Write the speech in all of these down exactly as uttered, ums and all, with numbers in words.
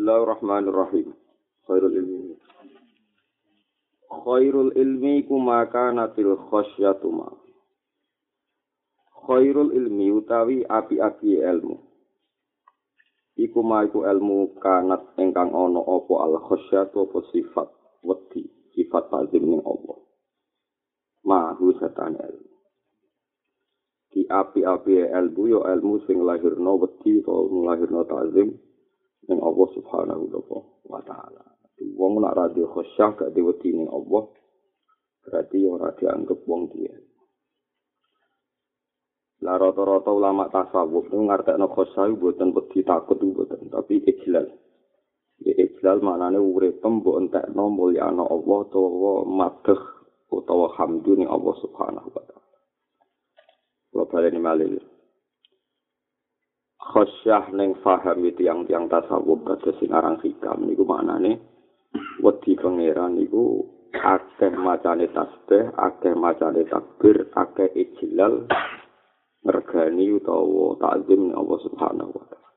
Bismillahirrahmanirrahim. Khairul ilmi. Khairul ilmi kumaka natil khosyatu ma. Khairul ilmi utawi api-api ilmu. Iku ma iku ilmu kanat ingkang ana apa al khosyatu apa sifat wedi, sifat tazim ning Allah. Mahu setan ilmu. Di api-api ilmu yo ilmu sing lahirna wedi utawa lahirna tazim ning Allah Subhanahu wa taala. Wong nak ra duwe khosyah gak diwedi ning Allah, berarti ora dianggap wong duwe. Lah rata-rata ulama tasawuf itu ngartekno khosyah mboten wedi takut mboten, tapi ijlal. Ya ijlal maknane urip mbok entekno mulyana Allah utawa madheh utawa hamdu ning Allah Subhanahu wa taala. Wa baleni malih. Khosyah ning faham tiang-tiang tasawuf kados sing aran hikam niku maknane wedi pangeran niku akeh macane tasbih, akeh macane takbir, akeh ijlal mergani utawa takzim Allah Subhanahu wa taala.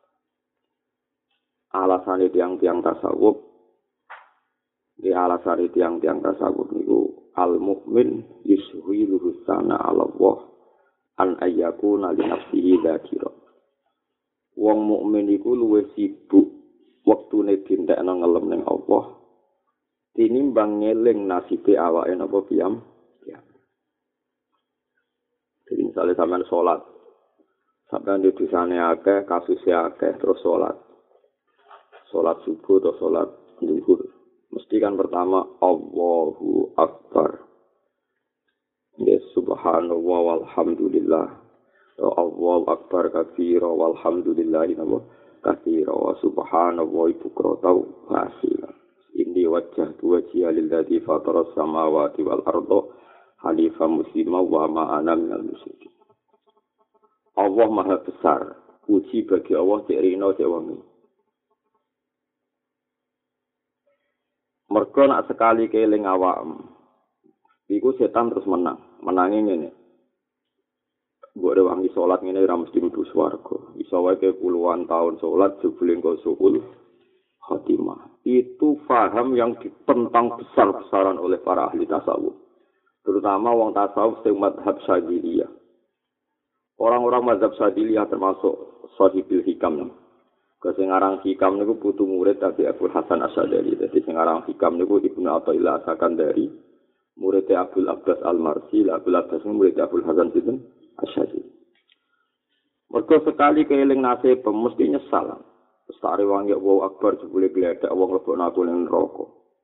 Alasane tiang-tiang tasawuf di alasane tiang-tiang tasawuf niku al mukmin yushiluhu sana ala Allah an ayyakuna li nafsihi dzakira. Wong mukmin iku luwih sibuk wektune dintekno ngelem ning Allah tinimbang ngeling nasibe awake napa piyam. Ya. Jadi misalnya sampean salat. Sampean di dosane akeh, kasuse akeh terus salat. Salat subuh atau salat zuhur. Mesti kan pertama Allahu Akbar. Ya subhanallah walhamdulillah. Allahu Akbar katsira walhamdulillahi katsira wa subhanallahi bukratan wa asila. Inni wajjahtu wajhiya lilladzi fatara samawati wal arda hanifan musliman wa ma ana minal musyrikin. Allah Maha Besar. Puji bagi Allah cek rino cek wengi. Mergo nak sekali keling awakmu. Iku setan terus menang. Menangi ngene. Mbok rewangi salat ngene ora mesti mlebu swarga. Iso wae puluhan tahun salat jebule engko suul khatimah. Itu faham yang ditentang besar-besaran oleh para ahli tasawuf. Terutama wong tasawuf sing mazhab Syadziliyah. Orang-orang mazhab Syadziliyah termasuk Shahibul Hikam. Sing aran Hikam niku putu murid Abi Abdul Hasan Asy'ari. Dadi sing aran Hikam niku Ibnu Athaillah Sakandari, murid Abdul Abbas Al-Marsi, Abdul Abbas murid Abdul Hasan sinten Asy'ari. Mergo sekali keeling nasib mesti nyesal. Sare wangi wow akbar jebule gledek wong lebokno aku ning neraka.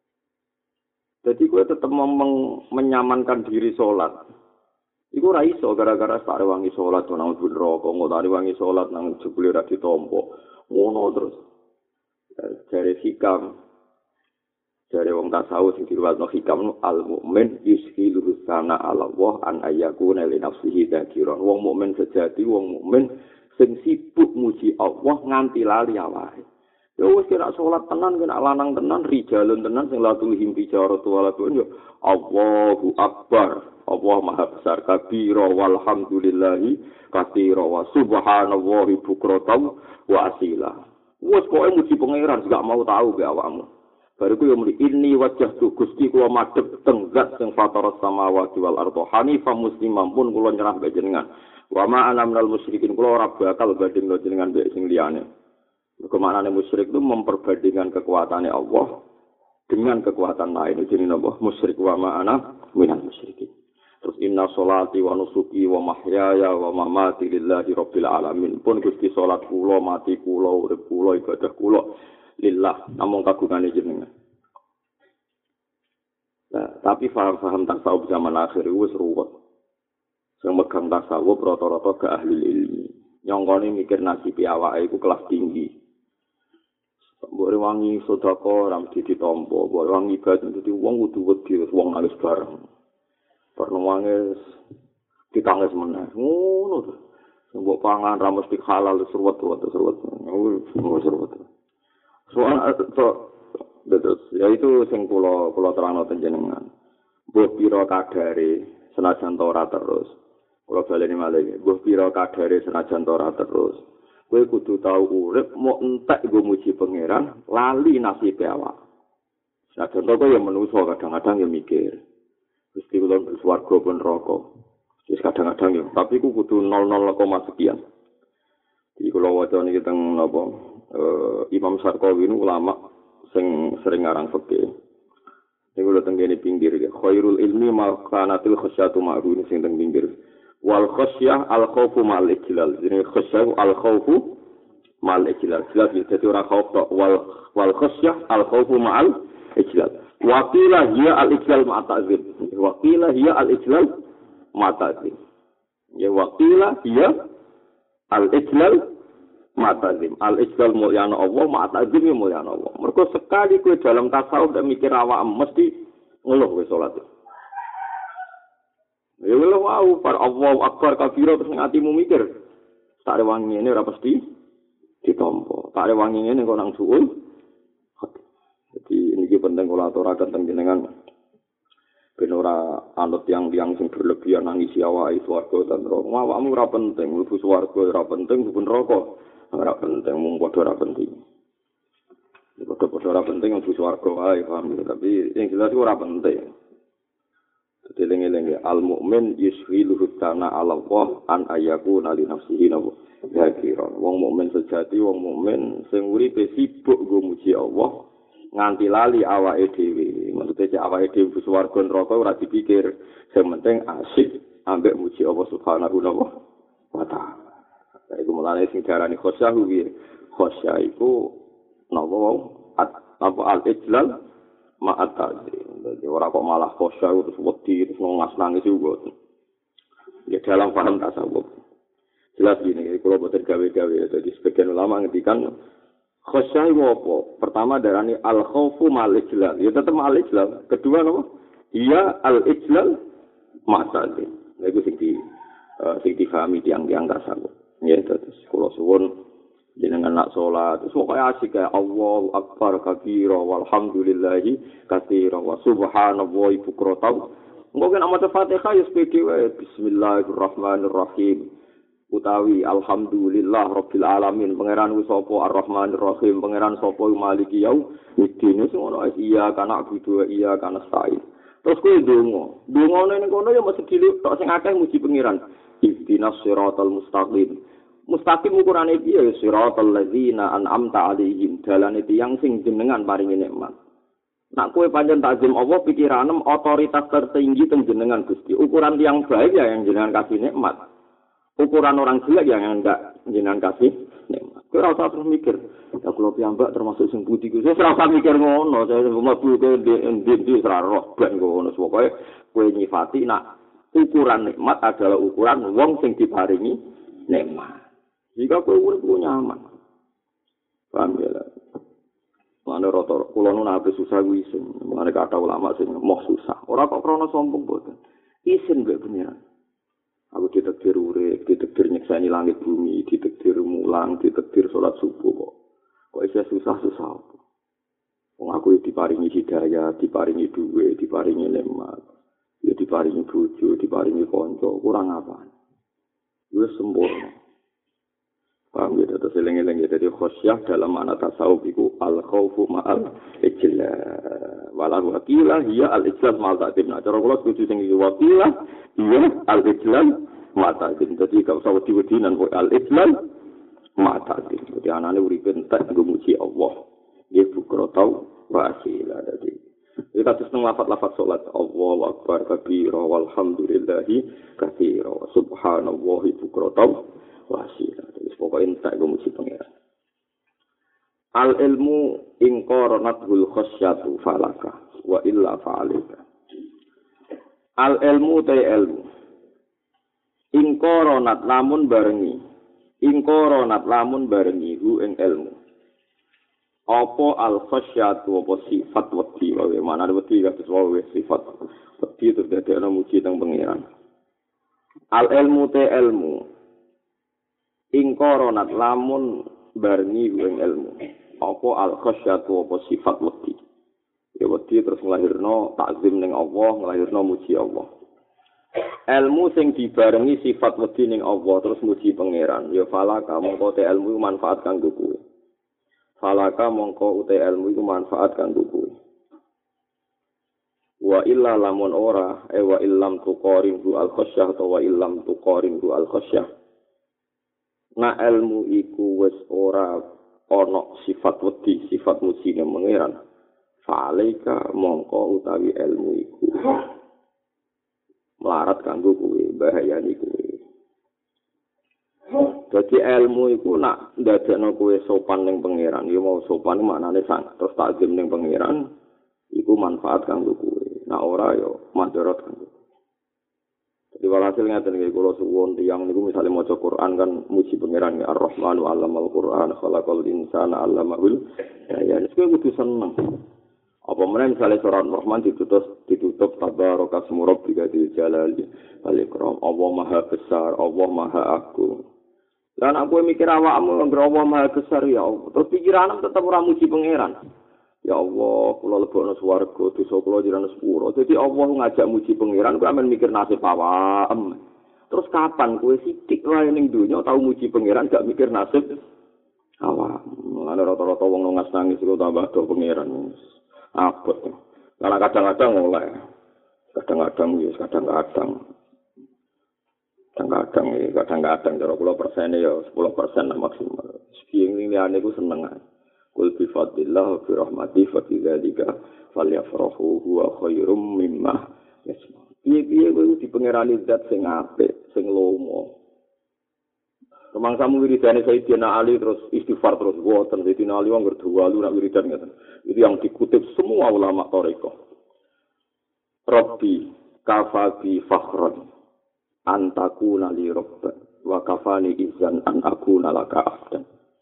Dadi kowe tetep menyamankan diri salat. Iku ora iso gara-gara sare wangi salat nang neraka, ngotari wangi salat nang jebule ora ditampa. Ngono terus. Jare hikam jare wong tasawuf sing diruwatno hikam al mukmin yushilu sana ala Allah an ayyakuna li nafsihi dzakiran. Wong mukmin sejati, wong mukmin sing sibuk muji Allah nganti lali awake. Ya wis kira salat tenan kena lanang tenan rijalun tenan sing latul himpi jaro tuwala yo Allahu Akbar. Allah Maha Besar kabira walhamdulillahi katsira wa subhanallahi bukratan wa asila. Wes pokoke muji pangeran gak mau tahu be awakmu. Bariku yo muni ini wajah tu Gusti kula madhep teng zat sing fatara samawati wal arda hanifan musliman pun kula nyerah be jenengan. Wa ma ana minal musyrikin kula ora bakal bandingno jenengan mbek sing liyane. Kemanane musyrik itu memperbandingkan kekuatannya Allah dengan kekuatan lain. Jadi napa musyrik wa ma ana minal musyrikin. Terus inna sholati wa nusuki wa mahyaya wa mamati lillahi rabbil alamin. Pun Gusti salat kula, mati kula, urip kula, ibadah kula lillah namung kagungane jenengan. Nah, tapi faham-faham tasawuf zaman akhir wis ruwet. Sing megang tasawuf rata-rata ke ahli ilmi. Nyongkone mikir nasib awake iku kelas tinggi. Mbok rewangi sedekah ora mesti ditampa, mbok rewangi ibadah dadi wong kudu wedi wong nangis bareng. Pernuange ditangis meneh. Ngono to. Mbok pangan ra mesti halal seruwet-seruwet seruwet. Ngono seruwet. Soal to betul. Ya itu sing kula kula terangno panjenengan. Mbok pira kadare senajan ora terus. Kula baleni malih. Mbok pira kadare senajan ora terus. Kowe kudu tau urip mau entek nggo muji pangeran, lali nasib awak. Nah, contoh kowe yang menungso kadang-kadang ya mikir. Gusti kula swarga pun neraka. Wis kadang-kadang ya, tapi ku kudu nol nol koma sekian. Jadi kalau waca niki teng napa uh, Imam Sarqawi ini ulama sing sering ngarang fikih. Niku lho teng kene pinggir ya. Khairul ilmi ma kanatil khasyatu ma'run sing teng pinggir. Wal khasyah al khaufu mal ijlal. Jadi khasyah al khaufu mal ijlal. Jelas ya dadi ora khauf tok wal wal khasyah al khaufu mal ijlal. Wa qila hiya al ijlal ma ta'zim. Wa qila hiya al ijlal ma ta'zim. Ya wa qila hiya al ijlal matazim al ijlal mulyana Allah matazim mulyana Allah. Mergo sekali kowe dalam tasawuf dak mikir awak mesti ngeluh kowe salat. Ya lho wau par Allahu akbar kabira terus atimu mikir. Tak rewangi ngene ora pasti ditampa. Tak rewangi ngene kok nang suul. Jadi ini penting kula aturaken teng jenengan ben ora anut yang-yang sing berlebihan nangisi awake swarga dan neraka. Awakmu ora penting, mlebu swarga ora penting, mlebu neraka ora penting, mung padha ora penting. Padha-padha ora penting mlebu swarga wae, paham. Tapi yang jelas ora penting. Dadi eling-eling al mukmin yushiluhu kana ala Allah an ayakuna li nafsihi nabu. Ya kira wong mukmin sejati, wong mukmin sing uripe sibuk nggo muji Allah nganti lali awake dhewe. Maksudnya cek awake dhewe swarga neraka ora dipikir. Sing penting asik ambek muji Allah Subhanahu wa taala. Iku mulane sing diarani khosyah kuwi. Khosyah iku napa wae apa al-ijlal ma'at ta'zim. Dadi ora kok malah khosyah terus wedi terus nangis nangis juga. Ya dalam paham tasawuf. Jelas gini, kalau boten gawe-gawe dadi sebagian ulama ngendikan khosyah itu apa? Pertama darani al-khaufu mal-ijlal. Ya tetap mal-ijlal. Kedua apa? Iya al-ijlal ma'at-ta'zim. Nah itu sing di uh, sing difahami tiang-tiang tasawuf. Ya terus kula suwun jenengan nak salat terus pokoke asik kayak Allahu akbar kabira walhamdulillahi katsira wa subhanallahi bukrata. Engko nek maca Fatihah ya sepede wae bismillahirrahmanirrahim. Utawi alhamdulillah rabbil alamin pangeran ku sapa arrahmanir rahim pangeran sapa maliki yaumiddin sing ono iya kana kudu iya kana stain. Terus kowe ndonga. Ndongane ning kono ya mesti diluk tok sing akeh muji pangeran. Ihdinas siratal mustaqim. Mustaqim ukurane piye ya siratal ladzina an'amta 'alaihim dalane tiyang sing jenengan paringi nikmat. Nak kowe pancen takzim Allah pikiranem otoritas tertinggi teng jenengan Gusti. Ukuran tiyang baik ya yang jenengan kasih nikmat. Ukuran orang jelek ya yang enggak jenengan kasih nikmat. Kowe ora usah terus mikir, ya kula piyambak termasuk sing budi ku. Saya ora usah mikir ngono, saya mlebu ke ndi-ndi ora roh ben ngono. Pokoke kowe nyifati nak ukuran nikmat adalah ukuran wong sing diparingi nikmat. Jika kowe urip nyaman. Paham ya? Mane rata kula nu nape susah kuwi isin. Mane kata ulama sing moh susah. Ora kok krana sombong boten. Isin mbek pengiran. Aku ditakdir urip, ditakdir nyekseni langit bumi, ditakdir mulang, ditakdir salat subuh kok. Kok isih susah-susah apa? Wong aku diparingi hidayah, diparingi duwe, diparingi nikmat. Ya diparingi bojo, diparingi kanca, kurang apa? Wis sempurna. Paham ya, terus eling-eling ya, jadi khosyah dalam makna tasawuf itu al-khawfu ma'al ijlal. Walau wakilah, iya al-ijlal ma'al ta'zim. Nah, cara kalau setuju tinggi wakilah, iya al-ijlal ma'al ta'zim. Jadi kalau usah wedi-wedinan, al-ijlal ma'al ta'zim. Jadi anak-anak uripin tak ngemuji Allah. Dia bukro tau wasilah. Jadi kita terus lafaz-lafaz salat Allahu akbar kabira walhamdulillahi katsira subhanallahi bukro tau wasilah. Pokoknya tak memuji pangeran. Al ilmu ingqaranathu khasyatu falaka wa illa fa'alika. Al ilmu ta ilmu. Ingqaranat lamun barengi. Ingqaranat lamun barengi hu ing ilmu. Apa al khasyatu apa sifat wedi wae mana wedi kados wae sifat wedi terus dadi ana muji teng pangeran. Al ilmu ta ilmu. Ingkoronat lamun barengi ing ilmu. Apa al khasyatu apa sifat wedi. Ya wedi terus nglahirno takzim ning Allah, nglahirno muji Allah. ilmu sing dibarengi sifat wedi ning Allah terus muji pangeran ya falaka mongko te ilmu iku manfaat kanggo kowe falaka mongko uta ilmu iku manfaat kanggo kowe wa illa lamun ora e wa illam tuqarin hu al khasyah wa illam tuqarin hu al khasyah na ilmu iku wis ora ana sifat wedi sifat muji ning pangeran fa'alaika mongko utawi ilmu iku melarat kanggo kowe bahayane kowe. Dadi ilmu iku nak ndadekno kowe sopan ning pangeran, ya mau sopan maknane sangat terus takzim ning pangeran iku manfaat kanggo kowe. Nah ora ya mandorot kanggo. Jadi walhasil ngaten iki kula suwun tiyang niku misale maca Quran kan muji pangeran ya Ar-Rahmanu 'allamal Qur'an khalaqal insana 'allamahul ya nek kowe kudu seneng. Apa meneh misale surat Rahman ditutup ditutup tabaraka asmu rabbika dzil jalali wal ikram. Allah Maha Besar, Allah Maha Agung. Lan aku mikir awakmu ngger Allah Maha Besar ya Allah. Terus pikiranmu tetep ora muji pangeran. Ya Allah, kula lebokno swarga, dosa kula jenengan sepuro. Dadi Allah ngajak muji pangeran, kowe amen mikir nasib awakmu. Terus kapan kowe sithik wae ning donya tau muji pangeran gak mikir nasib awakmu. Ana rata-rata wong nangis nangis kok tambah do pangeran. Abot. Karena kadang-kadang oleh. Kadang-kadang ya, kadang-kadang. Kadang-kadang ya, kadang-kadang. Cara kula persennya ya sepuluh persen maksimal. Sekian ini aneh ku seneng. Kul bifadillah bi rahmati fa bidzalika falyafrahu huwa khairum mimma yasma. Piye-piye kuwi di pangerani zat sing apik, sing lomo. Kemangsamu wiridane Sayyidina Ali terus istighfar terus woten Sayyidina Ali wong berdualu nak wiridan ngoten. Itu yang dikutip semua ulama thariqah. Rabbi kafabi fakhran antakuna li rabban wa kafani izan an akuna laka abdan.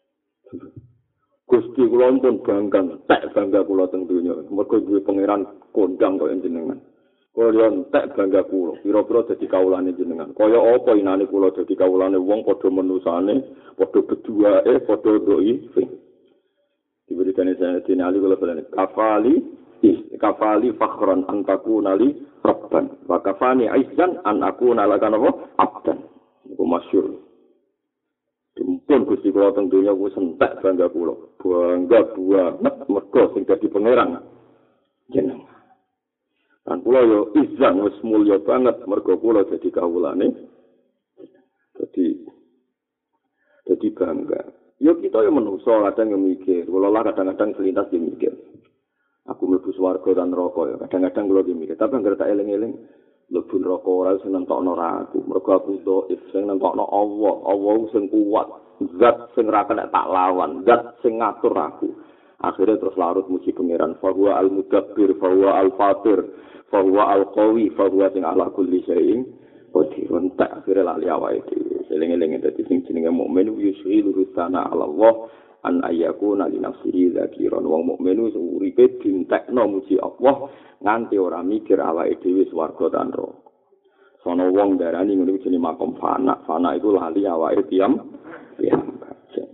Gusti kula pun bangga, tak bangga kula teng donya. Mergo duwe pangeran kondang kaya jenengan. Kula entek bangga kula, pira-pira dadi kawulane jenengan. Kaya apa inane kula dadi kawulane wong padha menusane, padha beduae, padha doi. Diberikan Sayyidina Ali kula balane kafali kafali fakhran an takuna li rabban wa kafani aizan an akuna laka abdan. Iku masyhur. Dimpun Gusti kula teng donya wis entek bangga kula. Bangga banget mergo sing dadi pangeran jenengan. Dan kula yo izan wis mulya banget mergo kula dadi kawulane. Dadi dadi bangga. Yo kita yo menungso kadang yo mikir, kula lah kadang-kadang selintas yo mikir. Aku mlebu swarga dan neraka yo kadang-kadang kula yo mikir, tapi anggere tak eling-eling mlebu neraka ora sing nentokno ra aku. Mergo aku dhaif sing nentokno Allah, Allah sing kuat, zat sing ra kena tak lawan, zat sing ngatur aku. Akhirnya terus larut muji pangeran, fa huwa al-mudabbir, fa huwa al-fatir. Fahuwa al-qawi, fahuwa sing ala kulli syai'in qadirun. Tak akhirnya lali awake dhewe. Eling-eling dadi sing jenenge mukmin yushilu rusana ala Allah an ayyakuna li nafsihi dzakiran. Wong mukmin uripe dintekno muji Allah nganti ora mikir awake dhewe swarga lan neraka. Sono wong darani ngene iki jenenge makom fana. Fana iku lali awake tiam piyambak.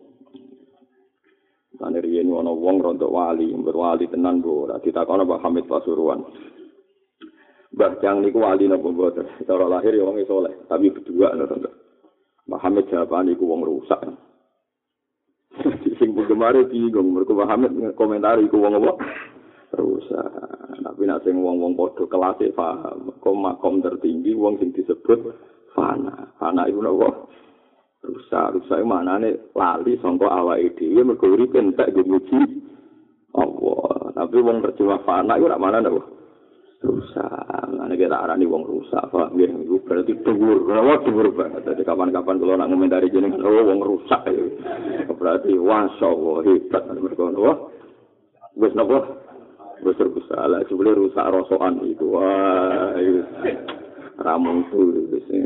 Lan riyen ana wong rontok wali, berwali tenan bo. Ditakoni Pak Hamid Pasuruan. Mbah Jang niku wali napa mboten? Cara lahir ya wong saleh, tapi berdua lho, Tante. Muhammad jawaban iku wong rusak. Sing penggemare bingung mergo Muhammad komentar iku wong apa? Rusak. Tapi nek sing wong-wong padha kelase paham, kok makom tertinggi wong sing disebut fana. Fana iku napa? Rusak. Rusak manane lali sangka awake dhewe mergo urip entek muji Allah. Tapi wong terjemah fana iku ora manane napa? Rusak, ane kita arani wong rusak, pak. Nggih, itu berarti dhuwur, kenapa dhuwur banget. Jadi kapan-kapan kalau nak komentari jenengan, oh wong rusak, berarti masya Allah hebat. Mereka wah, wes napa, wes rusak lah. Sebelum rusak rosokan itu, wah, ramung tuh,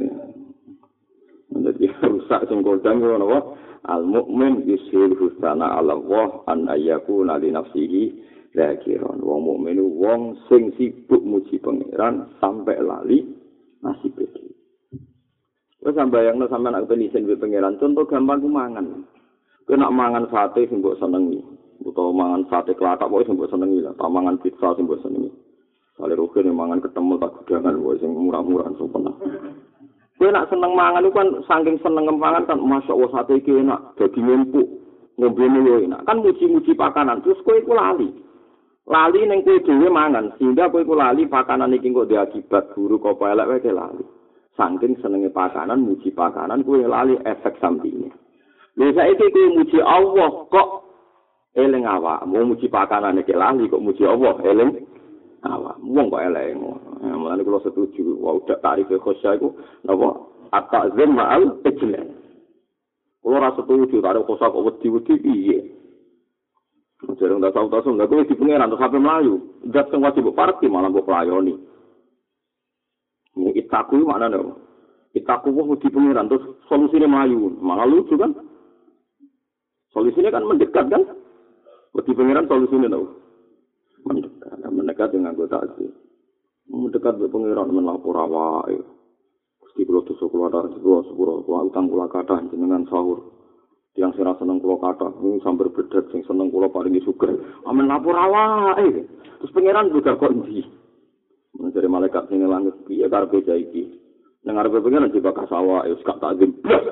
jadi rusak sengkodang itu napa. Al mukmin yushil husana ala Allah an ayyakuna li nafsihi zakiran. Wong mukmin wong sing sibuk muji pangeran sampai lali nasib iki. Wes sambayangno sampean aku penisen be pangeran. Contoh gampang ku mangan. Kowe nak mangan sate sing mbok senengi, utawa mangan sate klathak wae sing mbok senengi lah, tak mangan pizza sing mbok senengi. Sale roke mangan ketemu tak gudangan wae sing murah-murah sopan. Kowe nak seneng mangan iku kan saking seneng mangan kan masyaallah sate iki enak, dadi empuk, ngombene yo enak. Kan muji-muji pakanan terus kowe iku lali. Lali ning kowe dhewe mangan sehingga kowe iku lali pakanan iki kok diakibat buruk apa elek wae lali. Saking senenge pakanan, muji pakanan kowe lali efek sampinge. Lha saiki kowe muji Allah kok eling awakmu muji pakanan iki lali kok muji Allah eling awak wong kok elek ngono. Ya mulane kula setuju wa udah tarif khosya iku napa at-ta'zim ma'al ijlal. Kula ora setuju tarif khosya kok wedi-wedi piye. Jarang tak tahu-tahu enggak kowe di pangeran terus sampe mlayu. Zat sing wajib parti malah mbok playoni. Ini itaku maknane apa? Itaku wong di pangeran terus solusine mlayu. Malah lucu kan? Solusinya kan mendekat kan? Di pangeran solusinya tahu. Mendekat, mendekat dengan anggota aja. Mendekat ke pangeran melapor awake. Gusti kula dosa kula ada kula sepuro kula utang kula kathah jenengan sahur. Tiang sira seneng kula kathah, ini sambar bedet sing seneng kula paringi sugih. Amen lapor awake. Terus pangeran juga kok ndi? Mencari malaikat sing langit piye karepe iki? Nang arepe pangeran dibakar sawah wis gak takzim.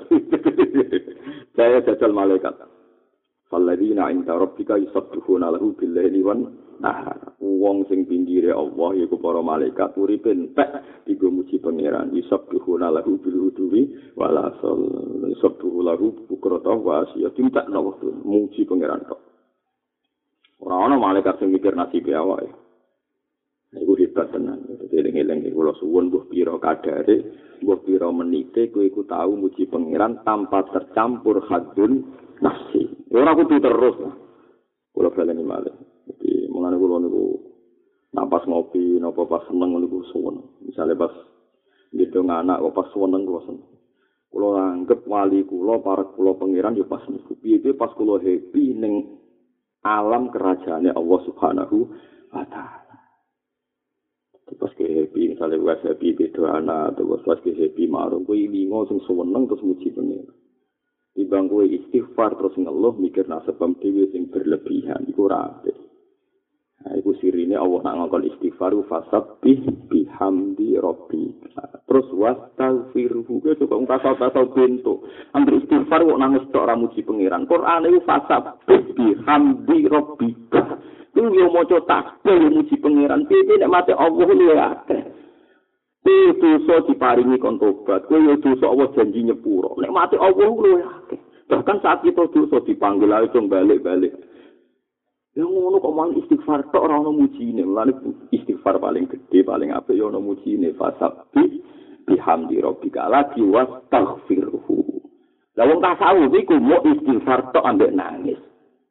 Saya jajal malaikat. Alladzina 'inda rabbika yusabbihuna lahu bil-laili wan nahar. Wong sing pinggire Allah yaiku para malaikat uripe entek digo muji pangeran. Yusabbihuna lahu bil-udwi wal asal. Yusabbihu lahu bukrata wa asya. Tindak nang wektu muji pangeran tok. Ora ana malaikat sing mikir nasib awake. Iku hebat tenan. Dadi eling-eling kula suwun mbuh pira kadare, mbuh pira menite kowe iku tau muji pangeran tanpa tercampur hadun nafsi. Ora kudu terus lah. Kula baleni malih. Jadi mengane kula niku napas ngopi napa pas seneng niku suwun. Misale pas ngidung anak kok pas seneng kula seneng. Kula anggap wali kula para kula pangeran ya pas niku. Piye pas kula happy ning alam kerajaane Allah Subhanahu wa taala. Pas ke happy misale wis happy beda anak atau pas ke happy marung kuwi lingo sing seneng terus muji pangeran. Timbang kowe istighfar terus ngeluh mikir nasabam dhewe sing berlebihan iku ora apik. Nah iku sirine Allah nak ngongkon istighfar fasabbih bihamdi rabbika. Terus wastaghfirhu kuwi kok ungkasa-ungkasa bentuk. Ambil istighfar kok nangis tok ora muji pangeran. Quran iku fasabbih bihamdi rabbika. Iku yo maca tasbih muji pangeran. Piye nek mate Allah luwih akeh. Kowe dosa diparingi kon tobat, kowe yo dosa Allah janji nyepuro. Nek mati Allah luwih akeh. Bahkan saat kita dosa dipanggil ae dong balik-balik. Ya ngono kok mang istighfar tok ora ono mujine. Lan istighfar paling gede, paling apik yo ono mujine fasabbi bihamdi rabbika lagi wastaghfirhu. Lah wong tasawuf iku mau istighfar tok ambek nangis.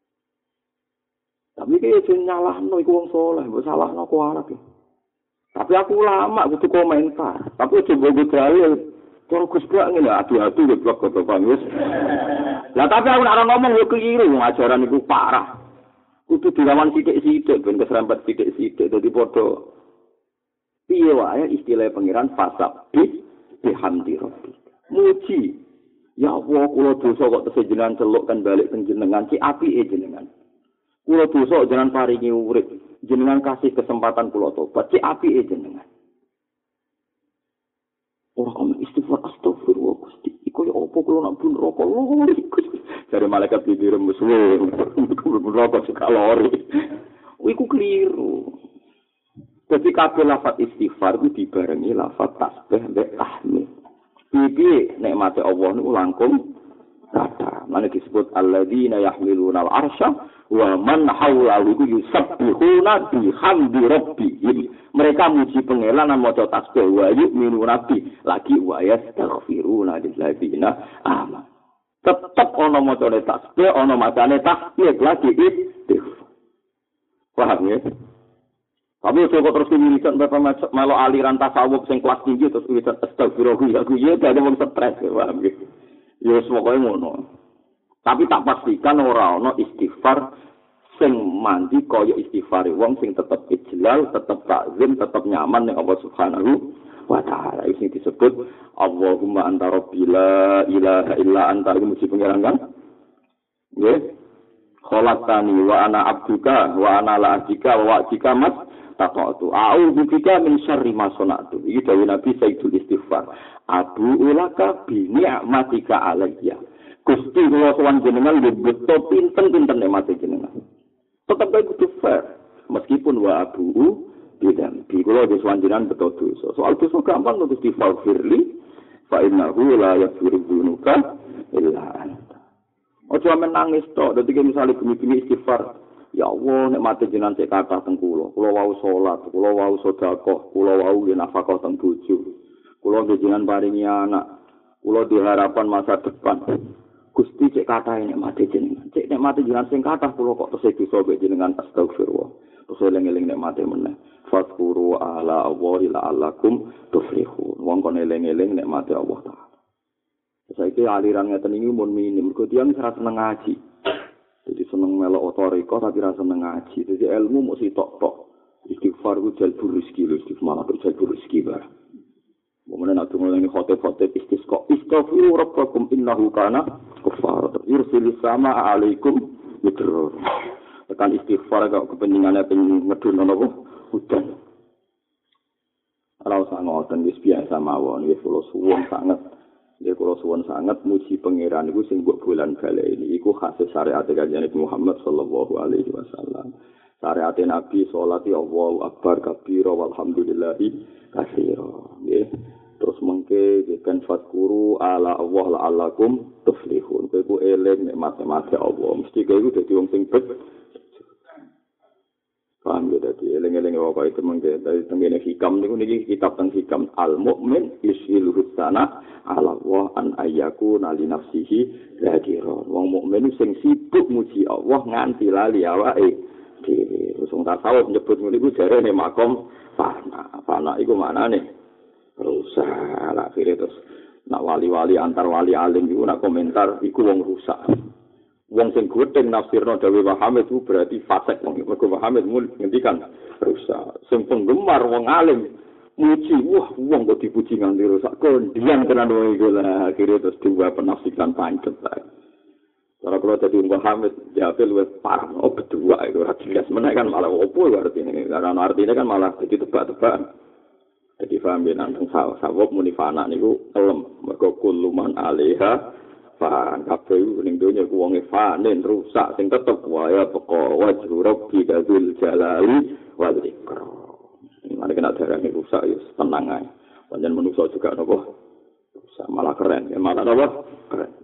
Tapi kaya sing nyalahno iku wong saleh, mbok salahno kok arep. Tapi aku lama kudu komentar. Tapi coba gue dalil. Kalau Gus gak ngene adu-adu di blog kok Bang. Lah tapi aku nek ngomong yo keliru ajaran iku parah. Kudu dilawan sithik-sithik ben keserempet sithik-sithik dadi padha. Piye wae istilah pangeran fasabbi bihamdi rabbi. Muji. Ya Allah kula dosa kok tesih jenengan celuk kan balik teng jenengan ki apike jenengan. Kula dosa jenengan paringi urip. Jenengan kasih kesempatan kula tobat, cek apike jenengan. Ora kok istighfar astagfirullah Gusti. Iku yo opo kula nak bun rokok lori. Jare malaikat bibir musuh. Rokok kalori. Iku keliru. Dadi kabeh lafaz istighfar ku dibarengi lafaz tasbih mbek tahmid. Iki nikmate Allah niku langkung kata. Mane disebut alladzina yahmiluna al-arsya wa man hawlahu yusabbihuna bihamdi rabbihim. Mereka muji pangeran lan maca tasbih wa yu'minu rabbi lagi wa yastaghfiruna lilladzina amanu. Tetep ana macane tasbih, ana macane tahmid lagi istighfar. Paham ya? Tapi coba terus milikan bapak melo aliran tasawuf sing kelas tinggi terus wiridan astagfirullah aku ya dadi wong stres paham ya. Ya semoga ngono. Tapi tak pastikan ora ana istighfar sing mandi kaya istighfar wong sing tetep ijlal, tetep takzim, tetep nyaman ning Allah Subhanahu wa taala. Iki disebut Allahumma anta rabbi la ilaha illa anta muji pangeran kan? Nggih. Khalaqtani wa ana abduka wa ana la abdika wa wa'dika mas Taqatu a'udzu bika min syarri ma sana'tu. Iki dawuh Nabi Sayyidul Istighfar. Abu ulaka bi ni'matika alayya. Gusti kula sowan jenengan lho beto pinten-pinten nikmate jenengan. Tetep kudu fair. Meskipun wa abu bidan bi kula wis wanjiran beto dosa. Soal dosa gampang terus difaghfirli fa innahu la yaghfiru dzunuba illa anta. Ojo menangis tok, dadi misale gemi-gemi istighfar. Ya Allah, nek mati jenengan cek kathah teng kula. Kula wau salat, kula wau sedekah, kula wau nafkah teng bojo. Kula jenengan paringi anak. Kula diharapan masa depan. Gusti cek kathah nek mati jenengan. Cek nek mati jenengan sing kathah kula kok tesih dosa mek jenengan astagfirullah. Terus eling-eling nek mati meneh. Fadhkuru ala Allahi la'allakum tuflihun. Wong kon eling-eling nek mati Allah Ta'ala. Saiki aliran ngeten iki mun minim, mergo tiyang ora seneng ngaji. Jadi seneng melok otoriko tapi rasa seneng ngaji. Jadi ilmu mesti tok-tok. Istighfar ku jalbur rezeki lho, istighfar ku jalbur rezeki barang. Kemudian aku ngomong khotib-khotib istisqa. Istaghfiru rabbakum innahu kana ghaffara. Yursilis sama alaikum midrar. Tekan istighfar kok kepentingannya pengen ngedun apa? Hujan. Ora usah ngoten wis biasa mawon, wis kula suwun sanget. Ya kula suwun sangat muji pangeran iku sing mbok bulan baleni iku khas syariat Kanjeng Nabi Muhammad sallallahu alaihi wasallam. Syariat Nabi salat ya Allahu akbar kabira walhamdulillahi katsira. Nggih. Terus mengke kan fadkuru ala Allah la'allakum tuflihun. Kowe eling nek mate-mate Allah. Mesti kowe iku dadi wong sing bet. Paham ya tadi, eling-eling apa itu mungkin dari tengene hikam niku niki kitab teng hikam al mukmin isil husana ala wa an ayyaku nali nafsihi dzakira. Wong mukmin sing sibuk muji Allah nganti lali awake dhewe. Terus wong tasawuf nyebut niku jarene makom fana. Fana iku maknane rusak. Akhire terus nak wali-wali antar wali alim iku nak komentar iku wong rusak. Wong sing gudeng nafsirno Dawi Muhammad itu berarti fasik. Mergo Muhammad mul ngendikan rusak. Sing penggemar wong alim muji, wah wong kok dipuji nganti rusak. Kondian tenan wong iku lah akhire terus dua penafsiran pancet. Cara kalau dadi Muhammad jawab luwih parah. Oh berdua itu ora jelas meneh kan malah opo artine. Karena artinya kan malah jadi tebak-tebakan. Jadi paham ya nang sawab munifana niku kelem. Mergo kuluman alaiha fan kabeh ning donya ku wong fanen rusak sing tetep wae peko wajhu rabbi kadzul jalali wal ikram. Mari kena darane rusak ya tenang ae. Panjen manusa juga napa rusak malah keren. Ya malah napa keren.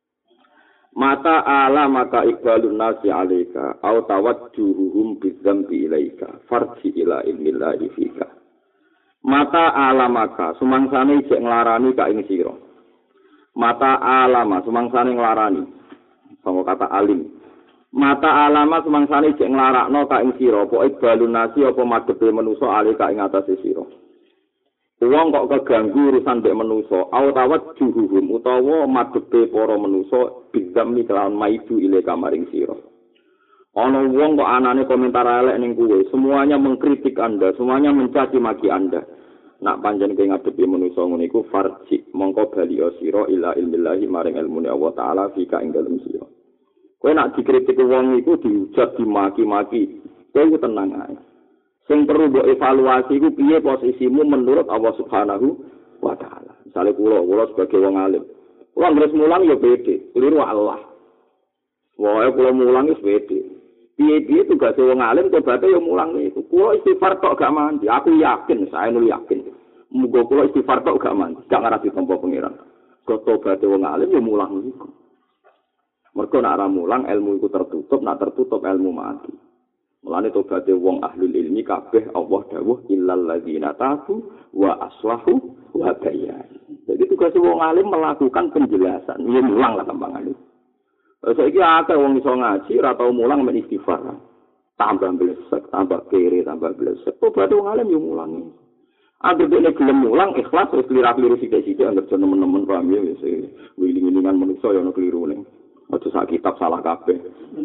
Mata ala maka iqbalun nasi alaika au tawajjuhum bidzambi ilaika farji ila ilmillahi fika. Mata ala maka sumangsane cek nglarani ka ing sira. Mata alama sumangsane nglarani sama kata alim. Mata alama sumangsane cek nglarakno ka ing sira apa ibalun nasi apa madhepe manusa ali ka ing atase sira. Wong kok keganggu urusan mbek manusa awatawat juruhum utawa madhepe para manusa bizamni kelawan maidu ile kamaring sira. Ana wong kok anane komentar elek ning kuwe, semuanya mengkritik Anda, semuanya mencaci maki Anda. Nak panjen kowe ngadepi manusa ngono iku farji mongko bali sira ila ilmillahi maring ilmune Allah taala fika ing dalem sira. Kowe nak dikritik wong iku dihujat dimaki-maki, kowe iku tenang ae. Sing perlu mbok evaluasi iku piye posisimu menurut Allah Subhanahu wa taala. Misale kula, kula sebagai wong alim. Kula ngres mulang ya pede, keliru Allah. Wae kula mulang wis pede. Piye-piye tugas wong alim tobaté ya mulang niku. Kula istighfar tok gak mandi. Aku yakin, saya nul yakin. Muga kula istighfar tok gak mandi. Gak ngarep ditampa pangeran. Kok tobaté wong alim ya mulang niku. Mergo nek ora mulang ilmu iku tertutup, nek tertutup ilmu mati. Mulane tobaté wong ahlul ilmi kabeh Allah dawuh illal ladzina tabu wa aslahu wa bayyan. Jadi tugas wong alim melakukan penjelasan. Ya mulang lah gampangane. Saiki akeh wong iso ngaji ora tau mulang men istighfar. Tambah blesek, tambah kere, tambah blesek. Tobat wong alim yo mulang. Angger dene gelem mulang ikhlas wis kliru-kliru sithik-sithik angger nemen-nemen paham ya wis wiling-wilingan manusa yo ono klirune. Aja sak kitab salah kabeh.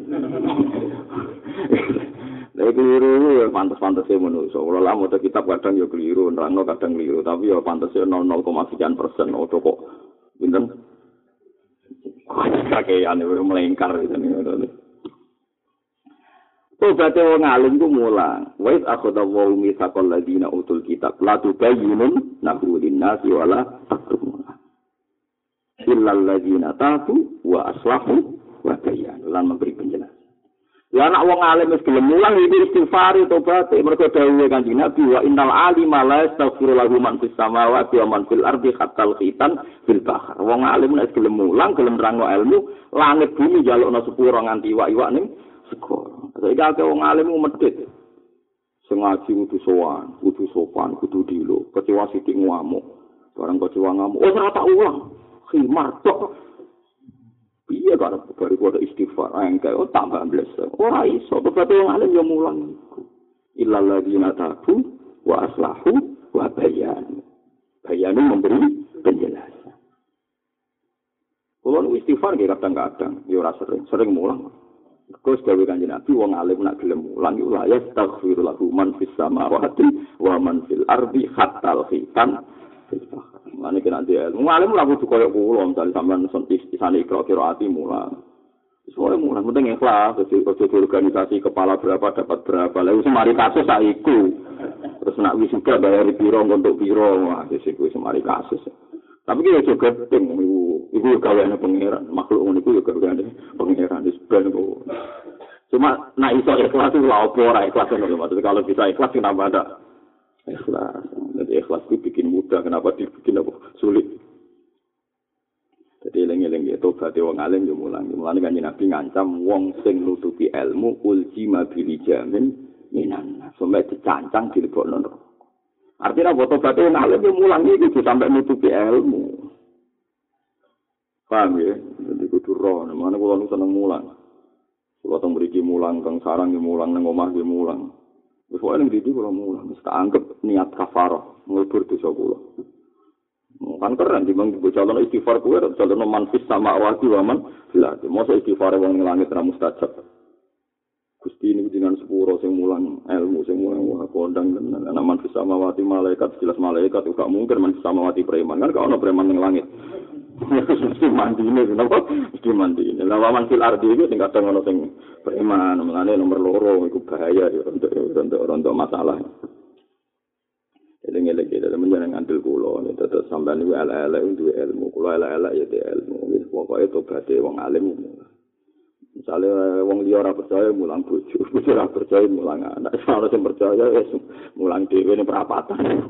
Lha kliru ya pantes-pantese manusa. Ora lah maca kitab kadang yo kliru, nerangno kadang kliru, tapi yo pantese nol koma sekian persen ojo kok pinten. Kakek ane melengkar gitu nih. Tobaté wong alim ku mulang. Wa iz akhadallahu mitsaqal ladina utul kitab la tubayyinun nahu lin-nasi wala taktumuna. Illal ladina tabu wa aslahu wa bayyanu lan memberi penjelasan. Lah nek wong alim wis gelem mulang iki istighfar tobat mergo dawuhe Kanjeng Nabi wa innal alima la yastaghfiru lahu man fis samawati wa man fil ardi hatta khitan fil bahr. Wong alim nek gelem mulang gelem nerangno ilmu langit bumi njalukno sepuro nganti iwak-iwak ning segara. Saiki akeh wong alim medhit. Sing ngaji kudu sowan, kudu sopan, kudu dilo. Kecewa sithik ngamuk. Barang kecewa ngamuk, oh ora tak ulang. Khimar tok. Iya kan baru kudu istighfar engke oh tambah ambles. Ora iso tobat wong alim yo mulang iku. Illal ladzina tabu wa aslahu wa bayan. Bayan memberi penjelasan. Kalau istighfar nggih kadang-kadang yo ora sering, sering mulang. Terus gawe Kanjeng Nabi wong alim nak gelem mulang iku la yastaghfiru lahu man fis samawati wa man fil ardi hatta khitan. Mane kena dia. Ngalim ora kudu koyo kula, misale sampean isane kira-kira ati mulang. Soale mulang penting ikhlas, ojo organisasi kepala berapa dapat berapa. Lah wis mari kasus saiku. Terus nak wis juga bayar piro untuk piro, wah wis iku semari kasus. Tapi ki ojo gepeng iku, iku gaweane pangeran, makhluk ngono iku yo gaweane pangeran wis ben kok. Cuma nak iso ikhlas itu lha opo ora ikhlas ngono maksudnya kalau bisa ikhlas kenapa ada ikhlas. Jadi ikhlas itu bikin mudah, kenapa dibikin apa sulit. Jadi eling-eling ya tobat wong alim yo mulang. Mulane Kanjeng Nabi ngancam wong sing nutupi ilmu uljima bil jamin minan. Sampai dicancang dilebokno neraka. Artinya apa tobat wong alim yo mulang iki sampai nutupi ilmu. Paham ya? Jadi kudu roh, mana kula nu seneng mulang. Kula teng mriki mulang, teng sarang yo mulang, nang omah yo mulang. Wis wae ning didi kula mulang, wis tak anggap niat kafarah, nglebur dosa kula. Kan keren dibang bocalon istighfar kuwe calon manfis sama awati waman lah mosok istighfar wong ning langit ra mustajab. Gusti niku jenengan sepuro sing mulang ilmu sing mulang wah kondang tenan ana manfis sama awati malaikat jelas malaikat gak mungkin manfis sama awati preman kan gak ono preman ning langit. Mesti mandine kenapa mesti mandine. Lah waman fil ardi iku sing kadang ono sing preman menane nomor loro iku bahaya ya untuk untuk untuk masalah. Eling-eling dalam menjenengan ngandel kula niku terus sampean niku elek-elek duwe ilmu kula elek-elek ya duwe ilmu wis pokoke tobaté wong alim. Misale wong liya ora percaya mulang bojo, bojo ora percaya mulang anak, ora sing percaya wis mulang dhewe ning perapatan.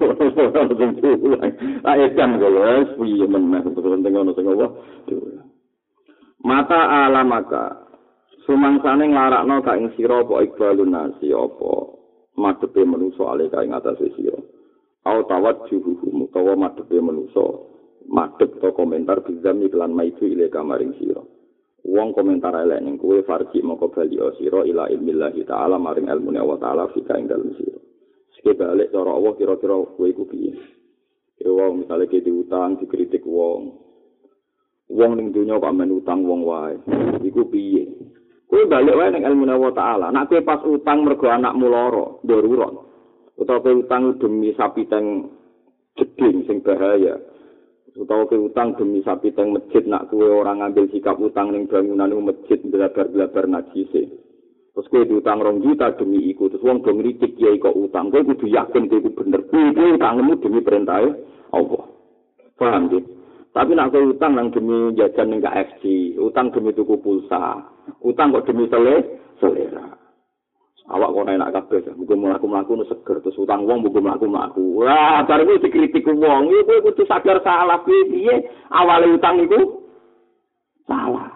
Lah edan kula wis piye meneh penting ono sing apa. Mata alamaka sumangsane nglarakno ka ing sira apa ikbalun nasi apa madhepe manungsa ale ka ing atase sira. Au tawajjuhu mutawa madhepe manusa madhep to komentar bizam iklan maitu ile kamaring sira wong komentar elek ning kowe farji moko bali sira ila ilmillahi taala maring ilmune Allah taala fika ing dalem sira sik balik cara Allah kira-kira kowe iku piye e wong misale ke diutang dikritik wong wong ning donya kok men utang wong wae iku piye kowe balik wae ning ilmune Allah taala nek kowe pas utang mergo anakmu lara darurat utawa utang demi sapi teng jeding sing bahaya utawa utang demi sapi teng masjid nak kowe ora ngambil sikap utang ning bangunan masjid blabar-blabar najise terus kowe diutang rong juta demi iku terus wong do ngritik kiai kok utang kowe kudu yakin kowe bener kuwi utangmu demi perintahe Allah paham nggih tapi nak kowe utang nang demi jajan ning K F C utang demi tuku pulsa utang kok demi selera awak kok enak kabeh muga mlaku-mlaku nu seger terus utang wong muga mlaku-mlaku wah bar iki dikritik wong iku kudu sadar salah piye awale utang iku salah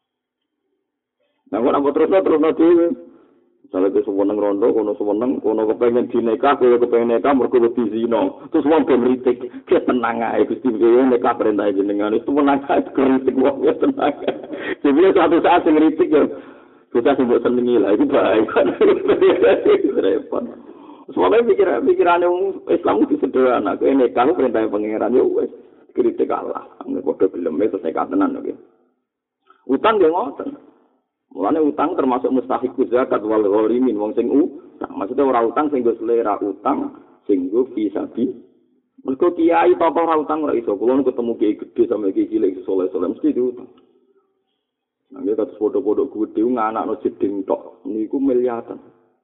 nah kok terus terus dhewe salah ke seneng rondo kono seneng kono kepengin dinikah kowe kepengin nikah mergo wedi zina terus wong ben ngritik ki tenang ae Gusti kowe nikah perintah jenengan itu menang ae kritik wong ya tenang jadi satu saat sing ngritik ya kita sebut senengi lah, itu baik. Repot. Soalnya pikiran pikiran yang Islam itu sederhana. Ini kalau perintah pangeran ya wes kritik Allah. Nggak kode film itu saya katakan oke. Utang dia ngoten. Mulanya utang termasuk mustahikus zakat wal ghorimin wong sing utang. Maksudnya orang utang sing go selera utang sing go fisabi. Mergo kiai papa ora utang ora iso. Kulo ketemu kiai gede sama kiai cilik soleh-soleh mesti diutang. Nangge kados foto-foto gede nganakno jeding tok, niku miliatan.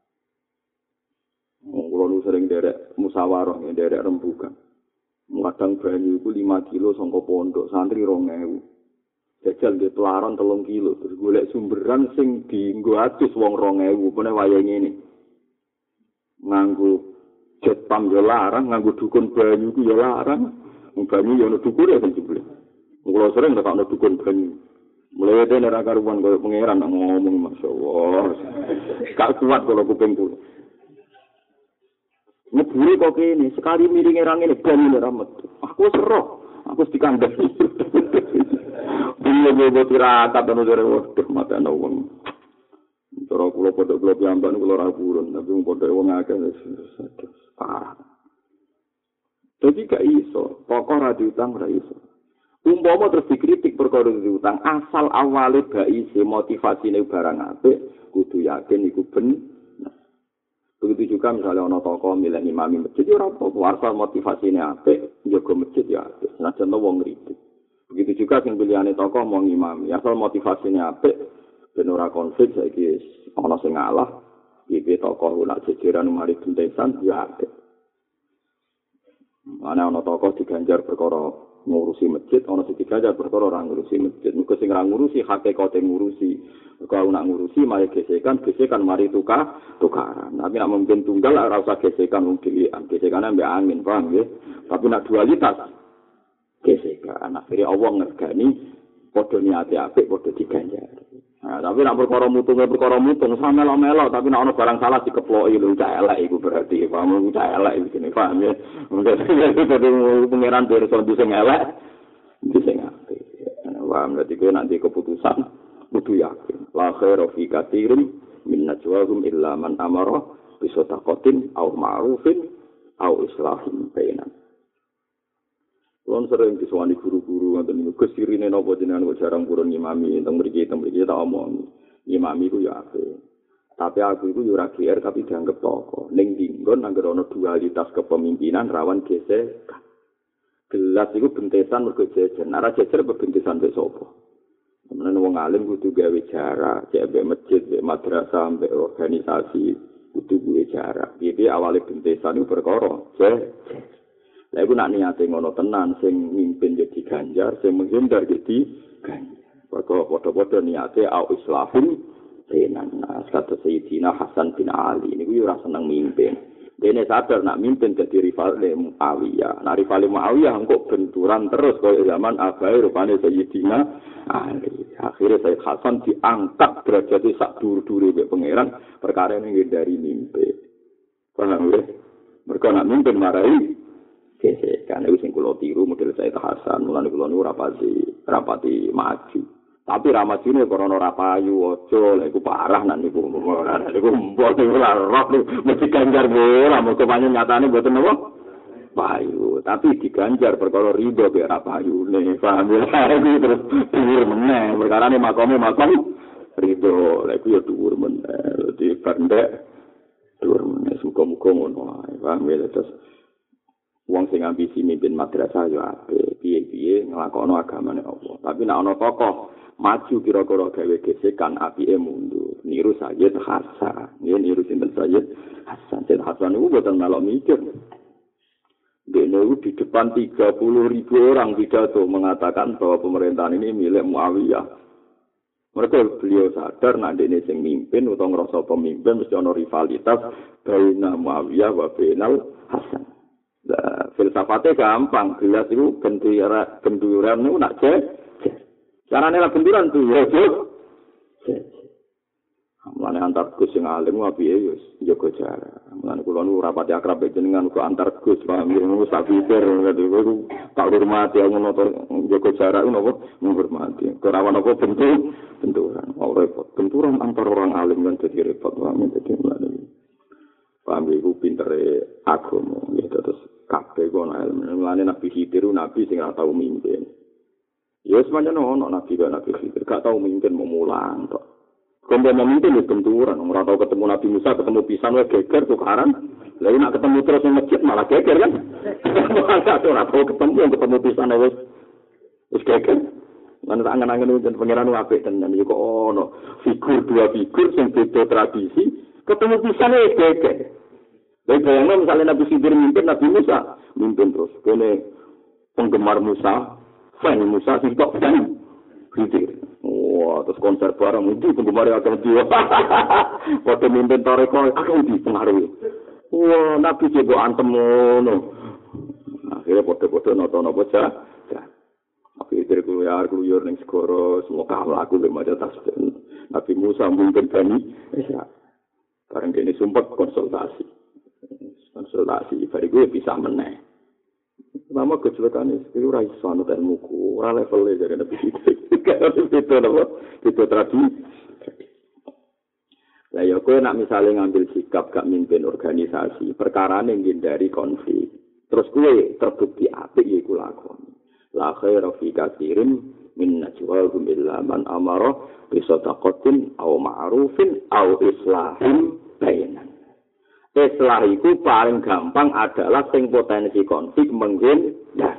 Kulo nu sering derek musyawarah, derek rembugan. Kadang banyu iku lima kilo saka pondok, santri rong ewu. Jajal nggih pelaron telung kilo, terus golek sumberan sing dienggo atus wong rong ewu, pene wayah ngene. Nganggo jet pam yo larang, nganggo dukun banyu ku yo larang. Wong banyu yo ono dukune kan jebule. Kulo sering tak ono dukun banyu. Mulai itu nek karuan koyo pangeran ngomong masyaallah. Gak kuat kalau kuping kulo. Ngeburi kok kene, sekali miring erang ini banyu ramet. Aku seroh, aku dikandani. Bunyi-bunyi tirakat ana jare waduh mata ana wong. Cara kula padha kula piyambak kula ora purun, tapi wong padha wong akeh wis parah. Dadi gak iso, pokok ra diutang ora iso. Umpama terus dikritik perkara diutang, asal awale baise motivasine barang apik, kudu yakin iku bener. Begitu juga misalnya ana tokoh milih imami masjid ya ora apa-apa, asal motivasine apik, njaga masjid ya apik. Senajan wong ngritik. Begitu juga sing pilihane tokoh mau imami, asal motivasine apik ben ora konflik saiki ana sing ngalah, iki tokoh ora jejeran mari bentesan ya apik. Ana ana tokoh diganjar perkara ngurusi masjid, ana sing diganjar perkara ora ngurusi masjid. Muga sing ora ngurusi hakikate ngurusi. Kalau nak ngurusi mari gesekan, gesekan mari tukar, tukaran. Tapi nak mungkin tunggal ora usah gesekan wong dhewean. Gesekane mbek angin, paham nggih? Tapi nak dualitas gesekan. Akhirnya Allah ngergani padha niate apik padha diganjar. Nah, tapi nak perkara mutung perkara mutung sama melo-melo, tapi nak ana barang salah dikeploki lho cah elek iku berarti paham cah elek iki paham ya. Mungkin pengeran derso sing elek sing apik. Paham berarti kowe nanti keputusan kudu yakin. La khairu fi katsirin min najwahum illa man amara bi sadaqatin aw ma'rufin aw islahin bainan. Kulon sering disuwani guru-guru ngoten niku kesirine napa jenengan kok jarang purun ngimami teng mriki teng mriki tak omong. Ngimami ku ya apik. Tapi aku iku yo ora G R tapi dianggep tokoh. Ning dinggon anggere ana dualitas kepemimpinan rawan gesek. Gelas iku bentesan mergo jejer. Nek jejer bentesan mbek sapa? Menawa wong alim kudu gawe jarak, cek mbek masjid, mbek madrasah, mbek organisasi kudu gawe jarak. Iki awale bentesan iku perkara jejer. Lah iku nak niate ngono tenan sing mimpin jadi ganjar, sing menghindar jadi ganjar. Perkara padha-padha niate au islahun tenan. Nah, kata Sayyidina Hasan bin Ali niku yo ora seneng mimpin. Dene sadar nak mimpin jadi rival Muawiyah. Nah rival Muawiyah engko benturan terus kaya zaman abahe rupane Sayyidina Ali. Akhirnya Sayyid Hasan diangkat derajate sak dur-dure mbek pangeran perkara ning dari mimpin. Paham ya? Mergo nak mimpin marai gesekan iku sing kula tiru model Sayyid Hasan, mulane kula niku rapati rapati maju. Tapi ra majune karena ora payu aja, lha iku parah nek niku ora niku mbok ora roh mesti ganjar ora mesti panjen nyatane mboten napa payu, tapi diganjar perkara rido be ra payune, paham ya? Iki terus dhuwur meneh, perkarane makome makom rido, lha iku ya dhuwur meneh, di pendek dhuwur meneh, muga-muga ngono ae, paham ya? Terus wong sing ambisi mimpin madrasah yo apik, piye-piye nglakokno agamane Allah. Tapi nek ana tokoh maju kira-kira gawe gesekan apike mundur. Niru Sayyid Hasan. Nggih niru sinten Sayyid Hasan. Sayyid Hasan niku boten melok mikir. Dene di depan tiga puluh ribu orang pidato mengatakan bahwa pemerintahan ini milik Muawiyah. Mereka beliau sadar nek dene sing mimpin utawa ngrasa pemimpin mesti ana rivalitas baina Muawiyah wa bainal Hasan. Nah, filsafatnya gampang, gelas itu benturan, benturan itu nak cek. Caranya lah benturan tuh, ya cek. Mulane antar Gus sing alim wae ya jaga jarak. Mulane kula nu rapati akrab jenengan kok antar Gus, paham ya ngono sak pikir ngono tak hormati ngono to jaga jarak ngono menghormati. Ora ana apa bentuk benturan. Ora repot. Benturan antar orang alim kan dadi repot wae dadi mulane. Paham iku pintere agama ya terus kabeh kono ilmu. Mulane Nabi Khidir nabi sing ora tau mimpin. Ya semuanya ono nabi kan Nabi Khidir gak tau mimpin mau mulang tok. Kompo memimpin wis benturan, ora tau ketemu Nabi Musa, ketemu pisan wae geger tukaran. Lah nek ketemu terus ning masjid malah geger kan. Ora tau ketemu ketemu pisan wis wis geger. Lan angen-angen wonten pangeran apik tenan yo kok ono figur dua figur sing beda tradisi ketemu pisan e gege. Lha bayangno misalnya Nabi Khidir mimpin Nabi Musa mimpin terus kene penggemar Musa, fan Musa sing tok fan Khidir. Wah, terus konser bareng itu penggemar akan dia. Foto mimpin toreko akan dipengaruhi. Wah, Nabi juga antem ngono. Akhirnya foto-foto noto-noto aja. Tapi itu keluar keluar neng segoro semua kalah aku lima juta tasbih. Nabi Musa mungkin Bani Israil. Barang ini sumpah konsultasi, konsultasi. Bari gue bisa meneh. Lama kecelakaan itu raiso anu ilmuku, ora levelnya jadi Nabi Khidir. Kalau itu apa? Itu tradisi. Lah ya kowe nak misalnya ngambil sikap gak mimpin organisasi, perkara ning dari konflik. Terus kowe terbukti apik ya iku lakoni. La khaira fi katsirin min najwahum illa man amara bi sadaqatin aw ma'rufin aw islahin bainan. Islah iku paling gampang adalah sing potensi konflik menghindar.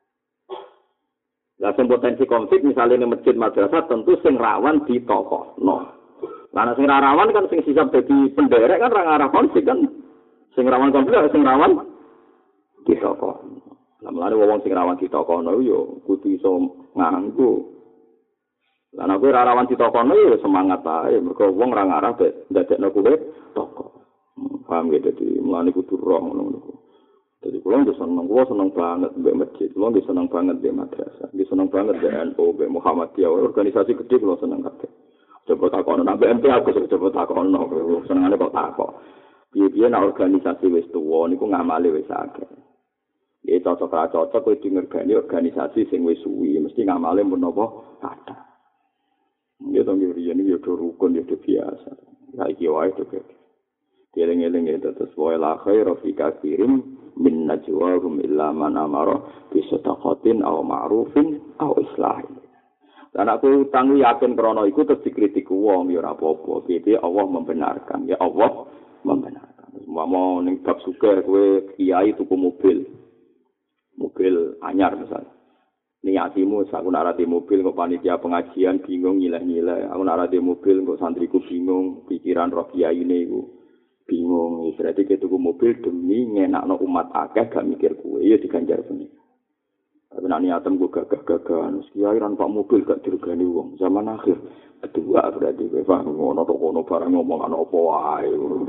Lah sing potensi konflik misalnya ning masjid madrasah tentu sing rawan ditokohno. Lah sing rawan kan sing sisap dadi penderek kan ora ngarah konflik kan. Sing rawan konflik sing rawan ditokohno. Lah mulane wong sing rawan ditokohno yo kudu iso nganggo. Lah nek ora rawan ditokohno yo semangat ae mergo wong ora ngarah ndadekno kowe tokoh. Paham ya, jadi mulane kudu roh ngono. Jadi kula nggih seneng, kula seneng banget mbek masjid, kula nggih seneng banget mbek madrasah, nggih seneng banget mbek N U, mbek Muhammadiyah, organisasi gede kula seneng kabeh. Coba takono nang B M T aku coba takono, senengane kok takok. Piye-piye nek organisasi wis tuwa niku ngamale wis akeh. Ya cocok ra cocok kowe dingergani organisasi sing wis suwi, mesti ngamale mun napa kathah. Ya to nggih riyen yo rukun yo biasa. Lah iki wae to kek. Eling-eling itu terus wa la khairu fi katsirin min najwahum illa man amara bi sadaqatin aw ma'rufin aw islahin. Dan aku utang yakin krana iku terus dikritik wong ya ora apa-apa. Piye Allah membenarkan. Ya Allah membenarkan. Mau ning bab sugih kowe kiai tuku mobil. Mobil anyar misalnya. Niatimu aku nak rati mobil kok panitia pengajian bingung nyileh-nyileh. Aku nak rati mobil kok santriku bingung pikiran roh kiyaine iku. Bingung, berarti kita tuku mobil demi ngenakno umat akeh gak mikir kue, ya diganjar benih. Tapi nak niatan gue gagah-gagahan, kiai ran pak mobil gak dirugani wong. Zaman akhir kedua berarti gue paham ngono to kono barang ngomong ana apa wae.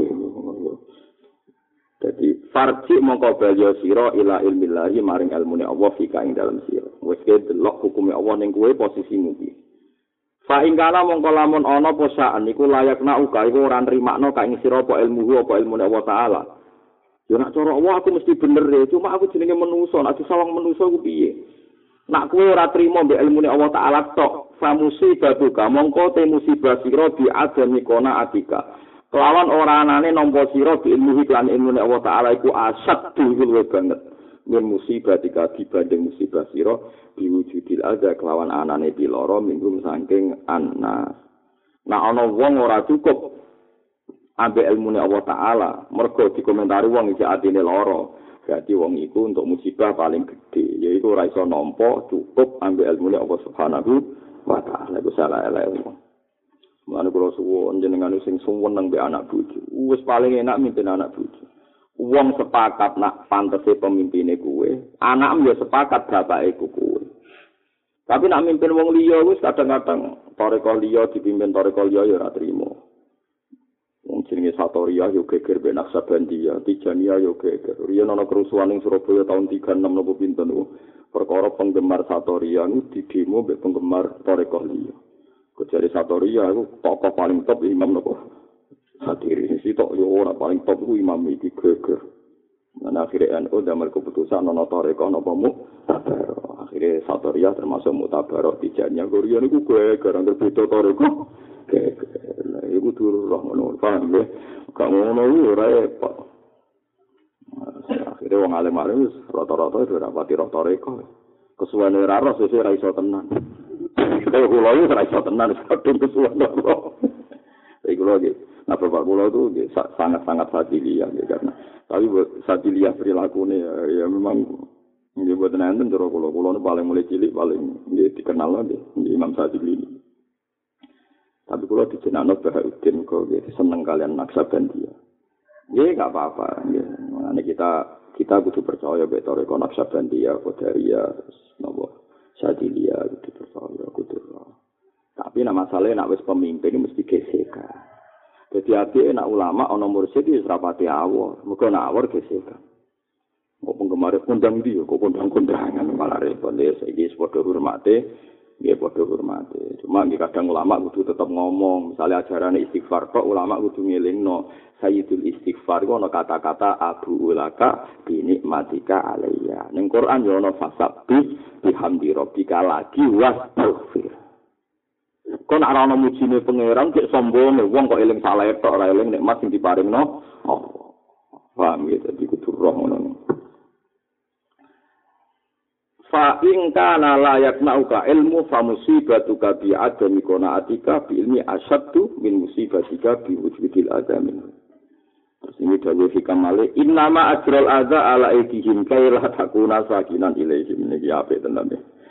Jadi farji mongko bali sira ila ilmillahi maring ilmune Allah fika ing dalam sira. Wis ke delok hukume Allah ning kowe posisimu iki. Fa ingkala mongko lamun ana posaan iku layak nak uga iku ora nrimakno ka ing sira apa ilmu apa ilmu Allah taala. Yo nak cara Allah aku mesti bener e, cuma aku jenenge manusa, nek disawang manusa ku piye? Nak kowe ora trima mbek ilmune Allah taala tok, fa musibatu ka mongko te musibah sira bi adami kona atika. Kelawan ora anane nampa sira bi ilmu lan ilmune Allah taala iku asad dhuwur banget. Min musibah tika dibanding musibah sira diwujudil ada kelawan anane piloro minggu saking anas. Nah ana wong ora cukup ambek ilmune Allah taala, mergo dikomentari wong iki atine lara. Berarti wong iku untuk musibah paling gede, yaiku ora iso nampa cukup ambek ilmune Allah Subhanahu wa taala. Iku salah elek wong. Mulane kula suwun jenengan sing suweneng mbek anak bojo. Wis paling enak mimpin anak bojo. Wong sepakat nak pantese pemimpine kuwe, anakmu ya sepakat bapake kuwe. Tapi nak mimpin wong liya wis kadang-kadang toreko liya dipimpin toreko liya ya ora trimo. Wong jenenge Satoria yo geger ben Naksabandia, Tijania yo geger. Riyen ana kerusuhan ning Surabaya tahun tiga enam napa pinten niku. Perkara penggemar Satoria niku didemo mbek penggemar toreko liya. Kejare Satoria iku tokoh paling top imam napa? Hadiri sisi tok yo ora paling top ku imam iki geger. Nah akhirnya N U damel keputusan ana toreko napa mu tabaro. Akhirnya Satoria termasuk mutabaroh Tijanya Korea niku geger anggere beda toreko. Geger. Lah iku turu roh ngono paham ya. Gak ngono iku ora repot. Akhirnya wong alim-alim wis rata-rata ora pati roh toreko. Kesuwane ora roh sesuk ora iso tenan. Kaya kula iki ora iso tenan kadung kesuwane roh. Iku lagi. Nah, Bapak Kula itu sangat-sangat sadiliyah ya, karena tapi sadiliyah perilakunya ya, ya memang Nggih mboten enten cara kula. Kula paling mulai cilik paling nggih dikenal nggih Imam Syafi'i. Tapi kula dijenakno Bahauddin kok nggih seneng kalian Naqsabandiyah. Nggih enggak apa-apa nggih. Mane kita kita kudu percaya mek toreko Naqsabandiyah, Qadariyah, napa Syadziliyah kudu percaya kudu. Tapi nama masalahnya nak wis pemimpin mesti gesekan. Jadi apike nak ulama ana mursyid wis rapati awor, muga nak awor gesekan. Kok penggemar kondang dia, kok kondang-kondangan malah repot ya. Saiki padha hormate, nggih padha hormate. Cuma nggih kadang ulama kudu tetep ngomong, misalnya ajaran istighfar kok ulama kudu ngelingno Sayyidul Istighfar iku ana kata-kata abu ulaka binikmatika alayya. Ning Quran yo ana fasabbi bihamdi rabbika lagi wastaghfir. Kok nek ana mujine pangeran kok sombong wong kok eling salah tok ora eling nikmat sing diparingno Allah. Paham ya dadi kudu roh ngono. Fa in kana la yaknauka ilmu fa musibatuka bi adami qanaatika bi ilmi asyaddu min musibatika bi wujudil adamin. Terus ini dawuh hikam male innama ajral adza ala aidihim kaila takuna sakinan ilaihim niki apik tenan.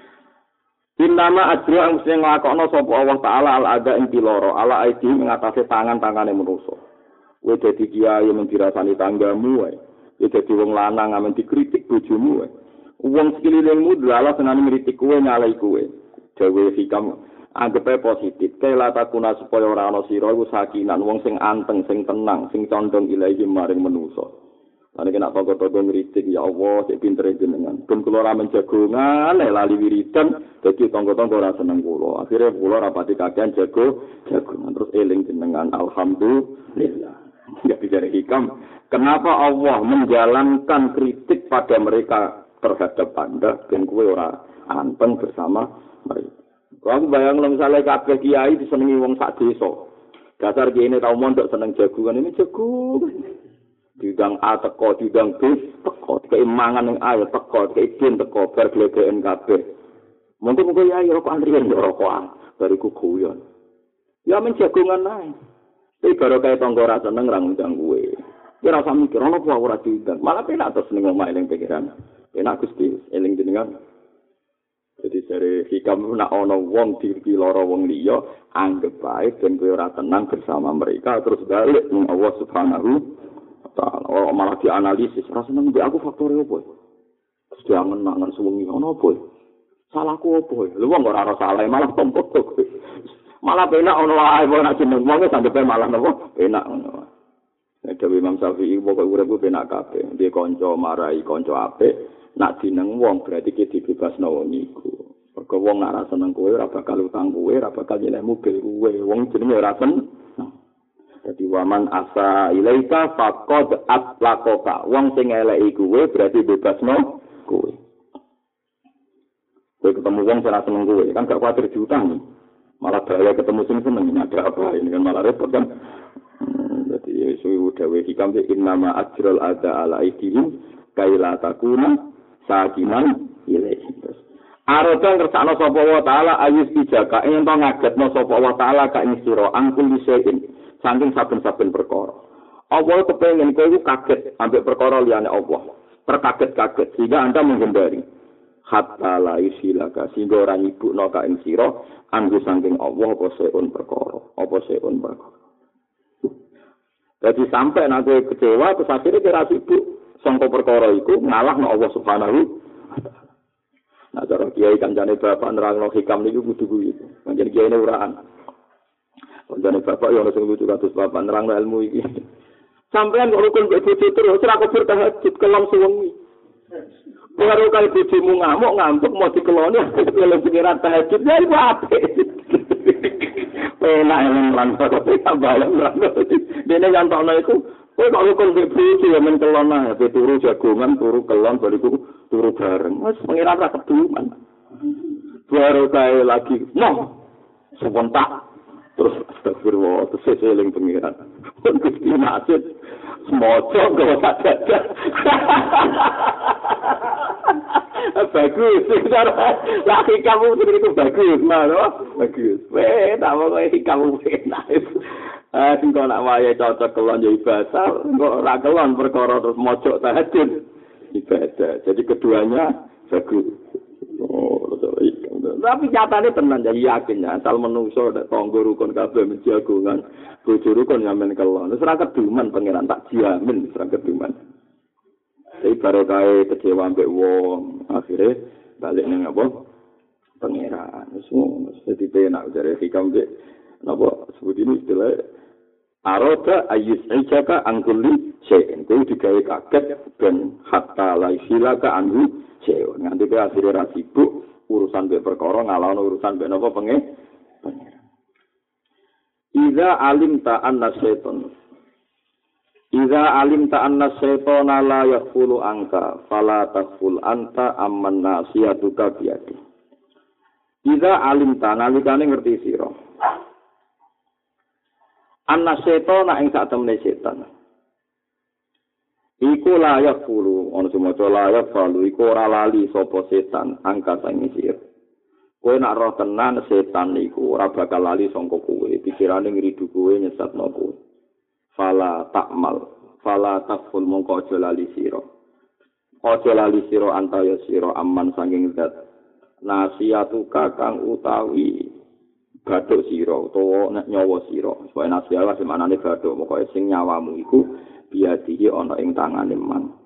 Innama ajra ang sing nglakokno sapa Allah taala al adza ing piloro ala aidihim ngatasi tangan-tangane manusa. Kowe dadi kiai men dirasani tanggamu wae. Kowe dadi wong lanang amen dikritik bojomu wae. Wong sekelilingmu dalalah senane ngritik kowe nyalai kowe. Dewe hikam anggepe positif. Kela takuna supaya ora ana sira iku sakinan wong sing anteng, sing tenang, sing condong ilahi maring manusa. Lan nek nak toko-toko ngritik ya Allah sik pinter jenengan. Ben kula ora menjagongan lali wiridan dadi tangga-tangga ora seneng kula. Akhire kula rapati kakean jago jagongan terus eling jenengan alhamdulillah. Ya bicara hikam, kenapa Allah menjalankan kritik pada mereka terhadap Anda dan kue ora anteng bersama mereka. Aku bayang misalnya kabeh kiai disenengi wong sak desa. Dasar kiai ini tau mondok seneng jagungan ini jagungan. Didang A teko, didang B teko, keimangan yang A teko, keidin teko, bar glegeken kabeh. Mungkin mungkin kiai rokok antrian ya rokokan, bariku guyon. Ya men jagungan ae. Tapi baru kaya tangga ora seneng ra ngundang kue. Ya ora usah mikir ono apa ora diundang. Malah penak terus ning omah eling pikiran. Enak Gusti, eling jenengan. Jadi dari hikam nak ana wong dipiloro wong liya, anggap baik dan kowe ora tenang bersama mereka terus balik ning Allah Subhanahu wa taala. Ora malah dianalisis, ora seneng mbek aku faktore opo. Terus diangen-angen suwengi ono opo. Salahku opo? Lha wong ora ora salah malah tompok tok. Malah penak ono wae wong nek jeneng wong sampe malah napa? Penak ngono. Nek Dewi Imam Syafi'i pokoke urip penak kabeh. Dia kanca marai kanca apik. Nak jeneng wong berarti ki dibebasno wong iku. Mergo wong nak ra seneng kowe ora bakal utang kowe, ora bakal nyenek mobil kowe. Wong jenenge ora seneng. Dadi waman asa ilaika faqad atlaqaka. Wong sing eleki kowe berarti bebasno kowe. Kowe ketemu wong sing ora seneng kowe, kan gak kuwatir diutang. Malah bahaya ketemu sing seneng, ada apa ini kan malah repot kan. Jadi suwi dawe hikam innama ajral ada ala aidihim kaila takuna sakinan ilaihim. Arodan kersakno sapa wa taala ayus bijaka yen to ngagetno sapa wa taala ka ing sira angkul disein saking saben-saben perkara. Allah kepengin kowe iku kaget ambek perkara liyane Allah. Terkaget-kaget sehingga Anda menghindari. Hatta la isilaka sehingga ora nyibukno ka ing sira anggo saking Allah apa seun perkara. Apa seun perkara. Jadi sampai nanti kecewa terus akhirnya kira sibuk sangka perkara iku ngalahno Allah Subhanahu wa taala. Nah, cara kiai kancane bapak nerangno hikam niku kudu kuwi. Pancen kiai ne uraan. Kancane bapak yo ono sing lucu kados bapak nerangno ilmu iki. Sampeyan kok rukun kok bojo terus ora kebur tahajud kelong suwengi. Baru kali bojomu ngamuk ngantuk mau dikeloni oleh pikiran tahajud ya iku apik. Enak yang lantar tapi tambahan lantar. Dene nyantokno iku kowe kok rukun mbek bojo ya men kelon ae turu jagongan turu kelon bariku turu bareng. Wes pengiran ra keduman. Baru kae lagi no sebentar terus astagfirullah terus seling pengiran. Gusti nasib semoco kok sadar. Bagus, laki kamu itu bagus, mana? Bagus. Weh, tak mau kau kamu enak. Ah, singkong nak waya cocok kelon jadi ibadah, kok rakelon perkara terus mojok tahajud ibadah. Jadi keduanya Bagus. Oh, tapi nyatane tenan jadi yakin ya, asal menungso nek tangga rukun kabeh menjagongan, bojo rukun sampean kelon. Wis ora keduman pangeran tak jamin ora keduman. Tapi barokah kecewa mbek wong, akhirnya balik ning apa? Pangeran. Wis ngono, dadi penak jare hikam mbek napa sebut ini istilah aroda ayus ijaka angkuli syai'in. Kuwi digawe kaget ben hatta la silaka anhu syai'un. Nganti ke akhire ra sibuk urusan mbek perkara ngalawan urusan mbek napa penge. Iza alimta anna syaitan Iza alimta anna syaitana la yakhulu angka fala takhul anta amman nasiyatuka biyadi. Iza alimta nalikane ngerti sira. Anna syaitana ing sak temene setan. Iku la yakhulu ana semoco la yakhulu iku ora lali sapa setan angka sing sira. Kowe nak roh tenan setan iku ora bakal lali sangka kowe, pikirane ngridu kowe nyesatno kowe. Fala takmal, fala takful mongko aja lali sira. Aja lali sira antaya sira aman sanging zat. Nasiatu kakang utawi bathuk sira utawa nek nyawa sira. Supaya nasiat sing manane bathuk, pokoke sing nyawamu iku biadihi ana ing tangane man.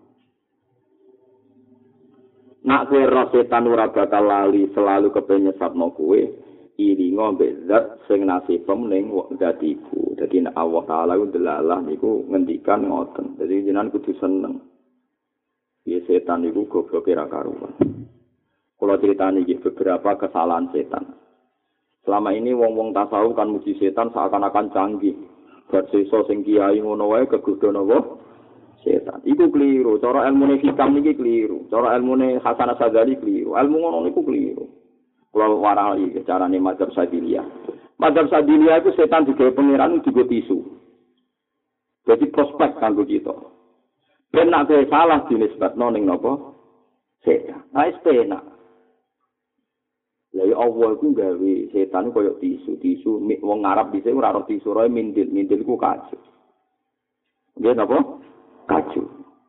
Nak kowe ro setan ora bakal lali selalu kepen nyesatno kowe. Iringo bezat sing nasibem ning zat iku. Dadi nek Allah Taala ku delalah niku ngendikan ngoten. Dadi jenengan kudu seneng. Ya setan iku gobloke ra karuan. Kula critani iki beberapa kesalahan setan. Selama ini wong-wong tasawuf kan muji setan seakan-akan canggih. Bar sesa sing kiai ngono wae kegodho napa? Setan. Iku keliru. Cara ilmune hikam niki keliru. Cara ilmune Hasan Asy-Syadzali keliru. Ilmu ngono niku keliru. Kalau warai carane mazhab Sadiliyah. Mazhab Sadiliyah itu setan digawe pangeran digo tisu. Jadi prospek kanggo kita. Ben nek salah dinisbatno ning napa? Setan. Nah, setan. Lah ya Allah iku gawe setan koyo tisu, tisu wong Arab dhisik ora ora tisu roe mindil, mindil iku kacu. Nggih napa? Kacu.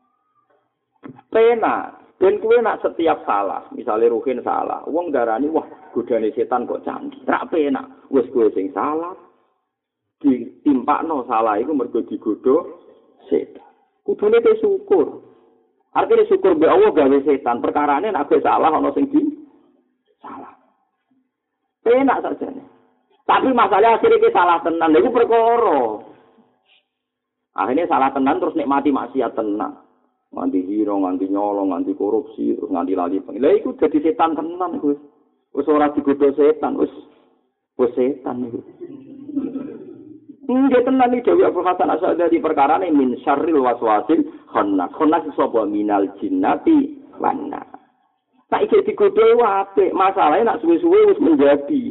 Pena ben kuwe nak setiap salah, misalnya Ruhin salah, wong darani wah godane setan kok canggih. Ra penak, wis kowe sing salah. Ditimpakno salah iku mergo digodho setan. Kudune te syukur. Artine syukur mbek Allah gawe setan, perkarane nek kowe salah ana sing di salah. Penak sajane. Tapi masalah akhirnya ke salah tenan, lha iku perkara. Akhirnya salah tenan terus nikmati maksiat tenan. Nganti hira, nganti nyolong, nganti korupsi, terus nganti lali pengen. Lah iku dadi setan tenan iku. Wis ora digodho setan, wis wis setan iku. Nggih tenan iki Dewi Abdul Hasan Asy-Syadzali perkarane min syarril waswasil khannas. Khannas sapa minal jinnati wana. Tak iki digodho apik, masalahe nak suwe-suwe wis menjadi.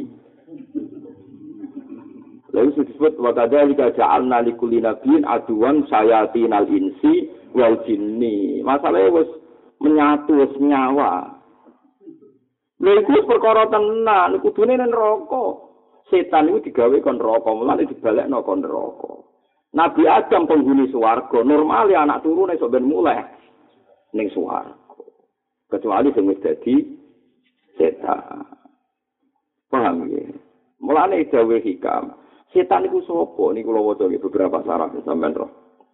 Lalu disebut wa kadzalika ja'alna likulli nabiyyin aduwan sayatinal insi wal jinni. Masalahe wis menyatu wis nyawa. Lha iku perkara tenan, kudune nang neraka. Setan iku digawe kon neraka, mulane dibalekno kon neraka. Nabi Adam penghuni swarga, normale anak turune sok ben muleh ning swarga. Kecuali sing wis dadi setan. Paham ya? Mulane dawuh hikam. Setan iku sapa? Niku kula waca beberapa sarah sampean roh.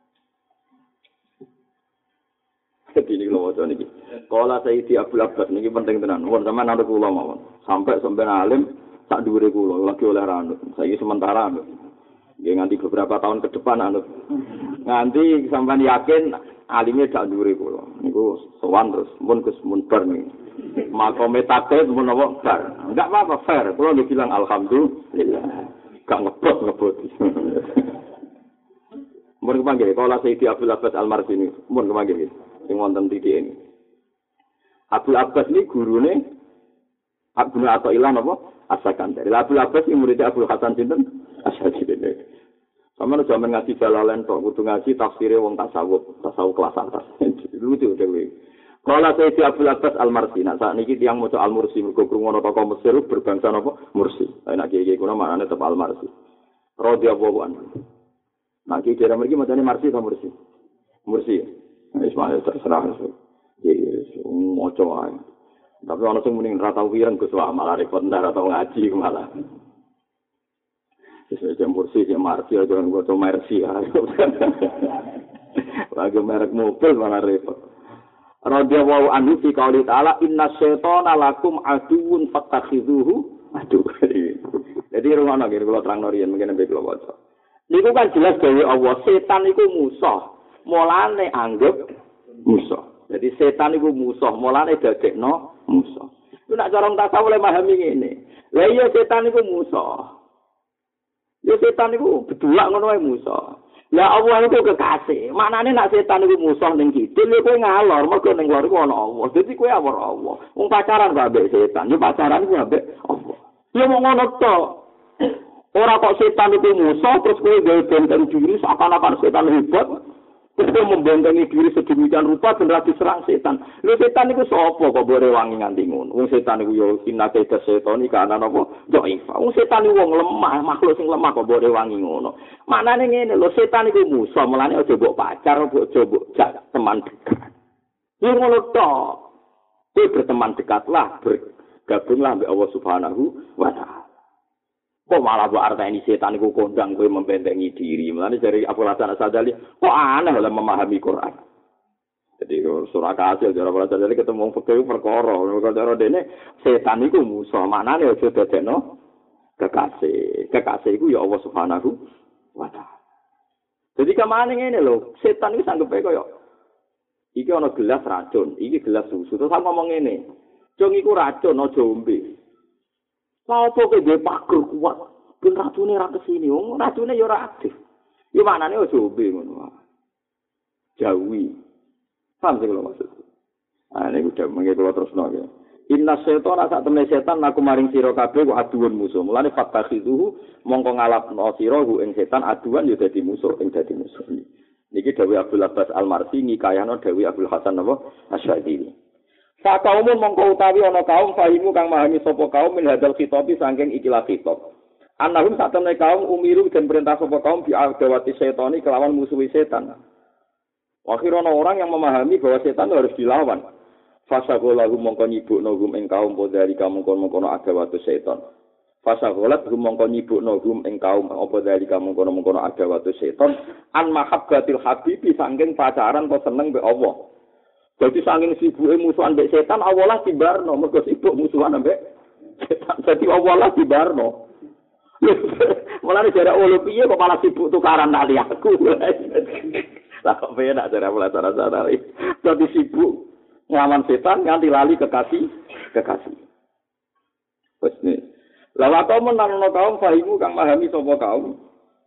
Jadi ini kalau wajah ini. Kalau Sayyidi Abdul Abbas ini penting tenan. Wong sampean anut kula mawon. Sampai sampean alim sak dhuwure kula lagi oleh anut. Saiki sementara anut. Nggih nganti beberapa tahun ke depan anut. Nganti sampean yakin alime sak dhuwure kula. Niku sowan terus mun Gus mun bar niki. Makome takdir mun apa bar. Enggak apa-apa fair. Kula nggih bilang alhamdulillah. Gak ngebot ngebot. Mun kepanggih kalau Sayyidi Abdul Abbas Al-Marzini mun kepanggih sing wonten titik ini. Abdul Abbas ini gurune Abdul Athaillah napa? As-Sakandari. Abdul Abbas iki murid Abdul Hasan sinten? Asy-Syadzili. Sampeyan jaman ngaji Jalalain tok, kudu ngaji tafsire wong tasawuf, tasawuf kelas atas. Lucu dhewe. Kala Sayyidi Abdul Abbas Al-Marzini, sak niki tiyang maca Al-Mursi mergo krungono tokoh Mesir berbangsa napa? Mursi. Nek iki kuwi maknane tetep Al-Marsi. Radhiyallahu anhu. Nah, iki kira mriki macane Marsi ta Mursi? Mursi. Ismail terserah itu. Jadi, moco aja. Tapi ana sing muni ora tau wireng Gus wae malah repot ndak tau ngaji malah. Wis jam kursi jam marsi aja nang foto mercy. Lagi merek mobil malah repot. Radhiyallahu anhu fi qouli ta'ala inna syaitana lakum aduwwun fattakhidhuhu aduh. Jadi rungono iki kula terangno riyen mungkin nek kula waca. Niku kan jelas dhewe Allah setan iku musuh. Mulane anggap musuh. Jadi setan iku musuh, mulane dadekno musuh. Iku nek cara tasawuf le pahami ngene. Lah iya setan iku musuh. Ya setan iku bedulak ngono wae musuh. Lah Allah itu kekasih. Maknane nek setan iku musuh ning kidul kowe ngalor, mergo ning lor iku ana Allah. Dadi kowe awor Allah. Wong pacaran kok ambek setan, ya pacaran ku ambek Allah. Ya mau ngono to. Ora kok setan iku musuh terus kowe gawe benteng diri seakan-akan setan hebat. Terus membentengi diri sedemikian rupa ben ra diserang setan. Lho setan iku sapa kok bore wangi nganti ngono? Wong setan iku ya kinate setan iki ana apa? Doifa. Wong setan iku wong lemah, makhluk sing lemah kok bore wangi ngono. Maknane ngene lho, setan iku musuh, mulane aja mbok pacar, aja mbok jak teman dekat. Ya ngono to. Kowe berteman dekatlah, bergabunglah ambek Allah Subhanahu wa taala. Kok malah buat arti ini setan itu kondang gue membentengi diri. Mulanya dari Abu Hasan As-Sadali, kok aneh dalam memahami Quran. Jadi surah Kasil, dari Abu Hasan As-Sadali ketemu fakir perkara. Kalau ini setan itu musuh. Maknanya itu dadekno kekasih. Kekasih itu ya Allah Subhanahu wa taala. Jadi kemana ini loh, setan itu sanggep kaya iki ana gelas racun, iki gelas susu. Terus aku ngomong ngene, "Jong iku racun aja ombe." Apa kowe dhewe pager kuat, ben racune ra kesini, wong racune ya ora aktif. Ya maknane aja ombe ngono. Jauhi. Paham sing kula maksud. Ah niku udah mengke kula terusno ya. Inna syaitana sak temne setan aku maring sira kabeh ku aduun musuh. Mulane fatakhizuhu mongko ngalapno sira ku ing setan aduan ya dadi musuh, ing dadi musuh. Niki dawuh Abdul Abbas Al-Marsi ngikayano dawuh Abdul Hasan apa Asy'ari. Sak kaum mongko utawi ana kaum fahimu kang memahami sapa kaum min hadal khitabi saking ikilah khitab. Annahum sak temne kaum umiru den perintah sapa kaum bi adawati setani kelawan musuhi setan. Akhirnya orang yang memahami bahwa setan harus dilawan. Fasagolahum mongko nyibukno hum ing kaum podari kamu kono-kono adawatu setan. Fasagolat hum mongko nyibukno hum ing kaum apa dari kamu kono-kono adawatu setan an mahabbatil habibi saking pacaran kok seneng mbek Allah. Jadi saking sibuke musuhan mbek setan awalah dibarno mergo sibuk musuhan mbek setan. Jadi awalah dibarno. Mulane jare ulu piye kok malah sibuk tukaran tali aku. Lah kok piye nak jare mulai cara-cara iki. Dadi sibuk nglawan setan nganti lali kekasih, kekasih. Wes nih. Lah wae menanono kaum fahimu kang memahami sapa kaum.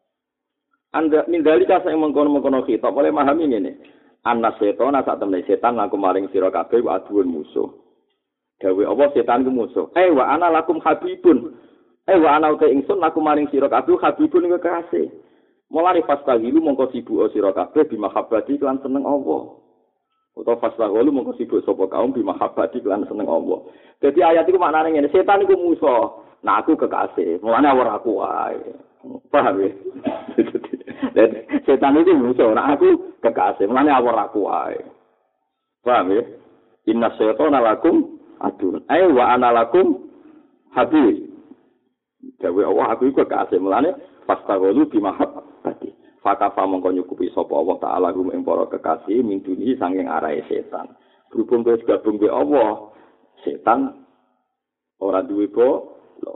Anda mindali kasa yang mengkono-mengkono khitab oleh memahami ngene. Anna setan sak temne setan aku maring sira kabeh wa aduun musuh. Dawe apa setan ku musuh. Eh wa ana lakum habibun. Eh wa ana uta ingsun aku maring sira kabeh habibun iku kekasih. Mulane fastahilu mongko sibuk sira kabeh bi mahabbati lan seneng Allah. Utawa fastahilu mongko sibuk sapa kaum bi mahabbati lan seneng Allah. Dadi ayat iku maknane ngene, setan iku musuh. Nah aku kekasih. Mulane ora aku wae. Paham ya? Dan setan itu musuh, nah aku kekasih, mulane awor aku wae. Paham ya? Inna syaitana lakum adun. Ai wa ana lakum habib. Dawe Allah aku iku kekasih, mulane fastaghulu bi mahabbati. Fakafa mongko nyukupi sapa Allah taala gum ing para kekasih min duni saking arahe setan. Berhubung kowe gabung be Allah, setan ora duwe po.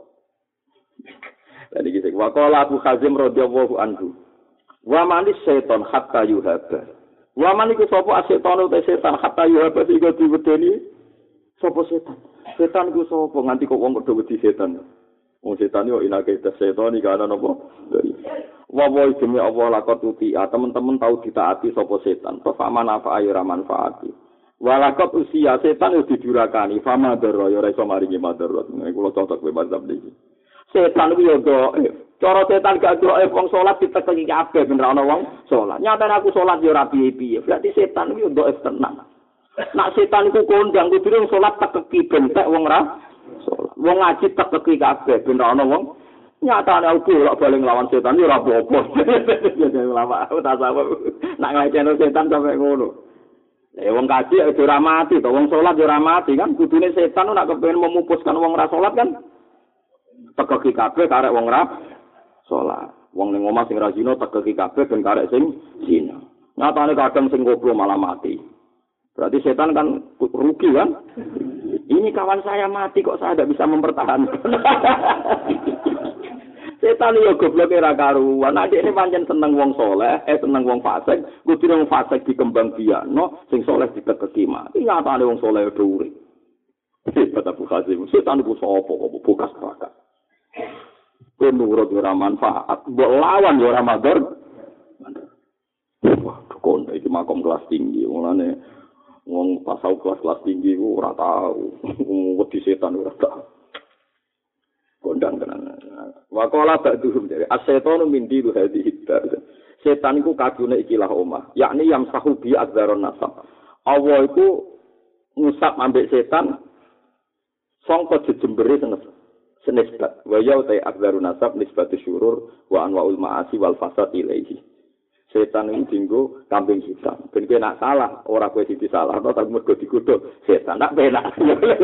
Tadi kita waqala Abu Hazim radhiyallahu anhu. Wa manis setan hatta yuhaba. Wa maniku sapa setan utawa setan hatta yuhaba sing diwedeni sapa setan. Setan iku sapa nganti kok wong padha wedi setan. Wong setan yo inake setan iki ana napa? Wa wa demi Allah lakot uti. Teman-teman tahu ditaati sapa setan. Fa manfaat ayo ra manfaati. Walakot usia setan wis didurakani. Fa madar yo ora iso maringi madarat. Kulo cocok kowe mazhab iki. Setan ku yo doif. Cara setan gak doif wong salat ditekeki kabeh ben ora ana wong salat. Nyatane aku salat yo ora piye-piye. Berarti setan ku yo doif tenan. Nak setan iku kondang kudu wong salat tekeki bentek wong ora salat. Wong ngaji tekeki kabeh ben ora ana wong. Nyatane aku ora bali nglawan setan yo ora apa-apa. Jadi lama aku tak sabar. Nak ngajeni setan sampe ngono. Eh wong kaji ya ora mati to, wong salat ya ora mati kan kudune setan nek kepengin memupuskan wong ora salat kan tegeki kabeh karek wong ora salat. Wong ning omah sing ra zina tegeki kabeh ben karek sing zina. Nyatane kadang sing goblok malah mati. Berarti setan kan rugi kan? Ini kawan saya mati kok saya tidak bisa mempertahankan. Setan yo goblok ora karuan. Nek ini pancen seneng wong soleh, eh seneng wong fasik, kudu wong fasik dikembang biakno, sing soleh ditekeki mati. Nyatane wong soleh udah urip. Hebat Abu Hazim. Setan iku sapa kok bekas bakat. Kowe nurut ora manfaat, mbok lawan yo ora madhar. Wah, kon iki makom kelas tinggi. Mulane wong pasau kelas-kelas tinggi ku ora tau. Wedi setan ora tau. Kondang tenan. Wa qala ba'duhum dari as-syaitanu min dilu hadhihi dar. Setan iku kadune ikilah omah, yakni yang sahubi adzarun nasab. Allah iku ngusap ambek setan sangka jejembere senes senesbat. Wa ya ta adzarun nasab nisbatu syurur wa anwaul ma'asi wal fasad ilaihi. Setan iki dinggo kambing hitam. Ben kowe nak salah, ora kowe sing disalah, tapi mergo digodhog setan nak penak.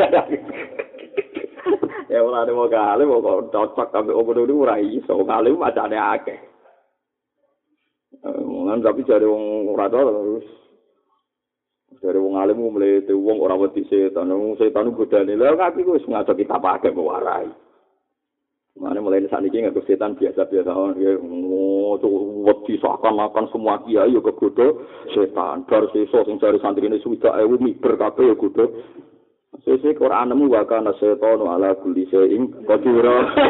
Ya ora ada mau kali mau cocok sampai umur itu ora iso kali macane akeh. Mun tapi jare wong ora terus jare wong alim mulai te wong ora wedi setan, wong setan godane lha kaki wis ngaco kita pakai mewarai. Mane mulai saniki ngaku setan biasa-biasa ya wedi seakan-akan semua kiai yo kegodho setan. Bar sesuk sing jare santrine swidak ewu miber kabeh yo godho. Sesuk Quranmu wa kana setanu ala kulli shay'in qadir.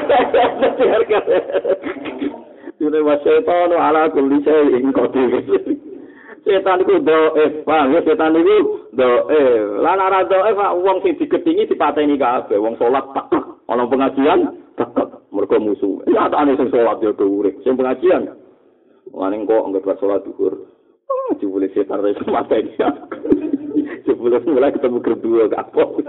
Dene wa setanu ala kulli shay'in qadir. Setan iku doe, paham ya setan iku doe. Lan ora doe wong sing digedhingi dipateni kabeh, wong salat tekek, ana pengajian tekek, mergo musuh. Ya atane sing salat yo urip, sing pengajian. Lan kok anggap salat zuhur. Oh, jebule setan wis mateni. Sebelum mulai ketemu kedua kapok.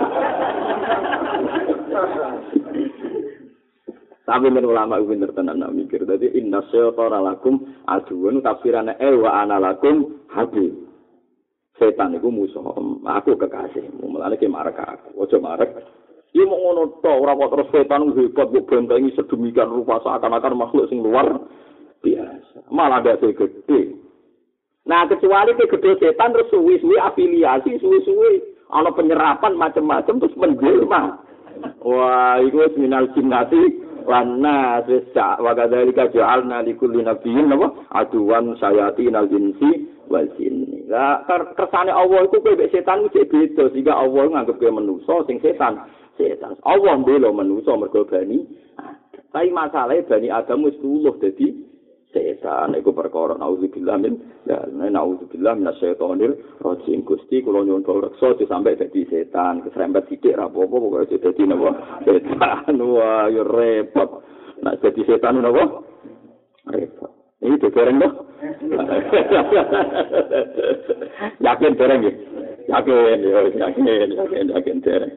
Tapi men ulama pinter tenan nak mikir. Dadi inna syaitana lakum aduun tafsirane e wa ana lakum habib. Setan iku musuh, aku kekasihmu. Mulane ki marek aku. Aja marek. Iki mung ngono tok, ora kok terus setan hebat kok bentengi sedemikian rupa seakan-akan makhluk sing luar biasa. Malah ada gede. Nah kecuali ke gede setan terus suwi-suwi afiliasi, suwi-suwi ana penyerapan macam-macam terus menjelma. Wah, iku wis minal jinnati lan nas wis wa kadzalika ja'alna likulli nabiyyin napa aduwan sayatinal insi wal jinni. Lah kersane Allah iku kowe mek setan iki beda sehingga Allah nganggep kowe manusa sing setan. Setan. Allah mbela manusa mergo bani. Tapi masalahe bani Adam wis luluh dadi setan iku perkara naudzubillah min ya naudzubillah minasyaitonir rajim Gusti kula nyuwun reksa sampai dadi setan keserempet sithik ra apa-apa pokoke dadi napa setan wah yo repot nek dadi setan napa repot iki dereng to yakin dereng iki yakin yo yakin yakin yakin dereng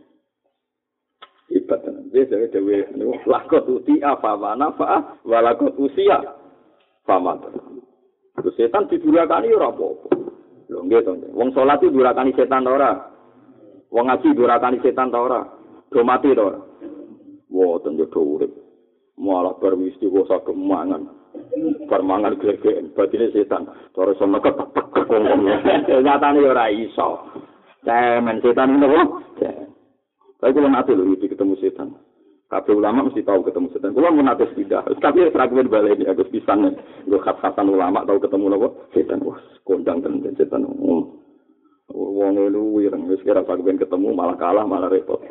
ibatan wis dewe lakot uti apa nafa walakot usia pamat. Terus setan didurakani ora apa-apa. Lho nggih to. Wong salat iki durakani setan ta ora? Wong ngaji durakani setan ta ora? Do mati to ora? Woten yo do urip. Malah bar mesti kok saged mangan. Bar mangan glegen batine setan. Terus sono ketek wong. Nyatane ora iso. Cemen setan ngono. Tapi kalau nanti lho ketemu setan. Kabeh ulama mesti tahu ketemu setan. Kulo mun nate tidak. Tapi fragmen balik ini agus pisan. Nggo khas-khasan ulama tahu ketemu napa? Setan. Wah, kondang tenan setan. Wong lu wireng wis kira fragmen ketemu malah kalah malah repot.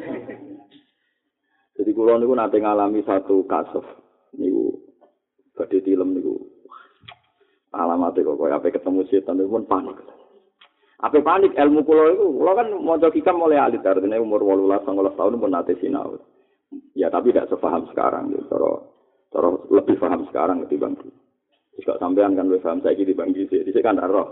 Jadi kulo niku nate ngalami satu kasus niku badhe tilem niku. Alamate kok koyo ape ketemu setan niku pun panik. Ape panik ilmu kulo iku, kulo kan maca hikam mulai alit artine umur wolulas sangalas tahun pun nate sinau. Ya tapi tidak sepaham sekarang gitu. Cara cara lebih paham sekarang ketimbang dulu. Jika sampean kan lebih paham saiki dibanding dhisik. Dhisik kan ora.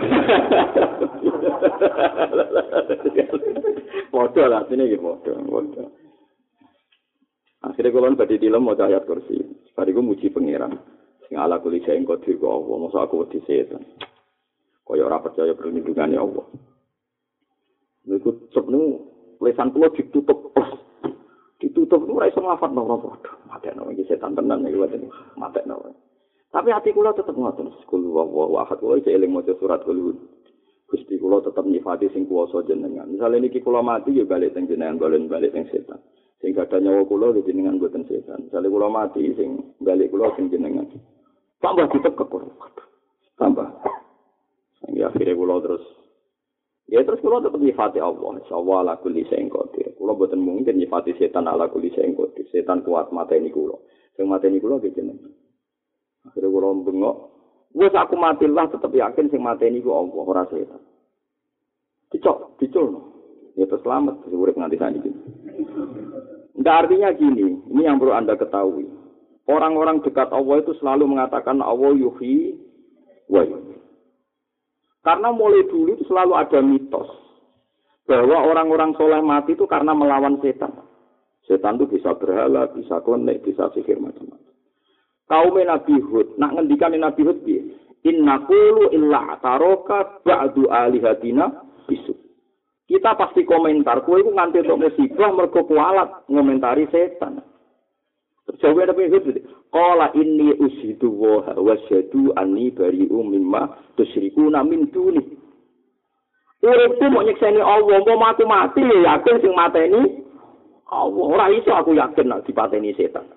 Padha lah sini iki padha, padha. Akhire kula badhe dilem maca ayat kursi. Bariku muji pangeran. Sing ala kuli sing kodir kok Allah, mosok aku wedi setan. kaya ora percaya perlindungane Allah. Niku sebnu lesan kula ditutup ditutup ora iso ngafat napa padha. Matekno iki setan tenan iki wae matekno. Tapi hati kula tetep ngoten, kul wa ahad kula iki eling maca surat kul. Gusti kula tetep nyifati sing kuwasa jenengan. Misale niki kula mati ya balik teng jenengan, bolen balik teng setan. Sing gadah nyawa kula ya jenengan boten setan. Misale kula mati sing balik kula sing jenengan. Tambah ditekek kula. Tambah. Sing akhire kula terus ya terus kula tetep nyifati Allah. Insyaallah ala kulli syai'in qadir. Kula boten mungkin nyifati setan ala kulli syai'in qadir. Setan kuat mateni kula. Sing mateni kula ki jenengan. Akhirnya kula bengok, wis aku mati lah tetep yakin sing mateni ku Allah ora setan. Dicok, diculno. Ya terus selamat, urip nganti saniki. Enggak artinya gini, ini yang perlu Anda ketahui. Orang-orang dekat Allah itu selalu mengatakan Allah yuhyi wa yumiit. Karena mulai dulu itu selalu ada mitos bahwa orang-orang soleh mati itu karena melawan setan. Setan itu bisa berhala, bisa klenik, bisa sihir macam-macam. Kaum Nabi Hud, nak ngendikan Nabi Hud piye? Inna qulu illa taroka ba'du alihatina bisu. Kita pasti komentar, kowe iku nganti untuk musibah mergo kualat ngomentari setan. Terjawab Nabi Hud, qala inni ushidu wa wasyadu anni bari'u mimma tusyrikuna min duni. Uripku mau nyekseni Allah, mau mati mati ya yakin sing mateni Allah. Ora iso aku yakin nak dipateni setan.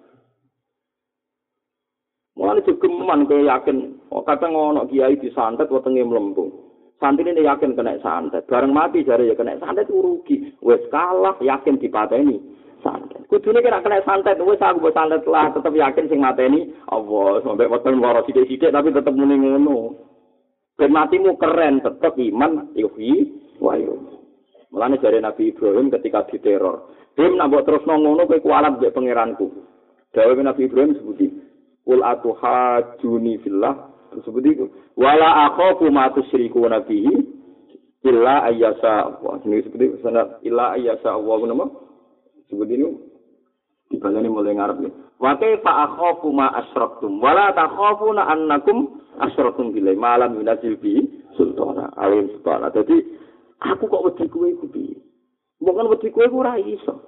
Mulane jogeman kaya yakin, oh, kadang ono kiai disantet wetenge mlempung. Santine yakin kena santet, bareng mati jare ya kena santet rugi. Wis kalah yakin dipateni santet. Kudune kena kena santet, wis aku mbok santet lah tetep yakin sing mateni Allah. Sampai weteng loro sithik-sithik tapi tetep muni ngono. Ben matimu keren, tetep iman yuhi wa yumiit. Mulane jare Nabi Ibrahim ketika diteror, "Dim nak mbok terusno ngono kowe kualat mbek pangeranku." Dawuh Nabi Ibrahim sebuti Qul atuhajuni fillah tersebut itu wala akhafu ma tusyriku nabihi illa ayyasa Allah. Ini seperti sanad illa ayyasa Allah nama seperti ini dibalani mulai ngarep nih. Wa kaifa akhafu ma asyraktum wala takhafuna annakum asyraktum billahi ma lam yunzil bi sultana alim sultana. Jadi aku kok wedi kowe iku piye? Bukan wedi kowe ora iso.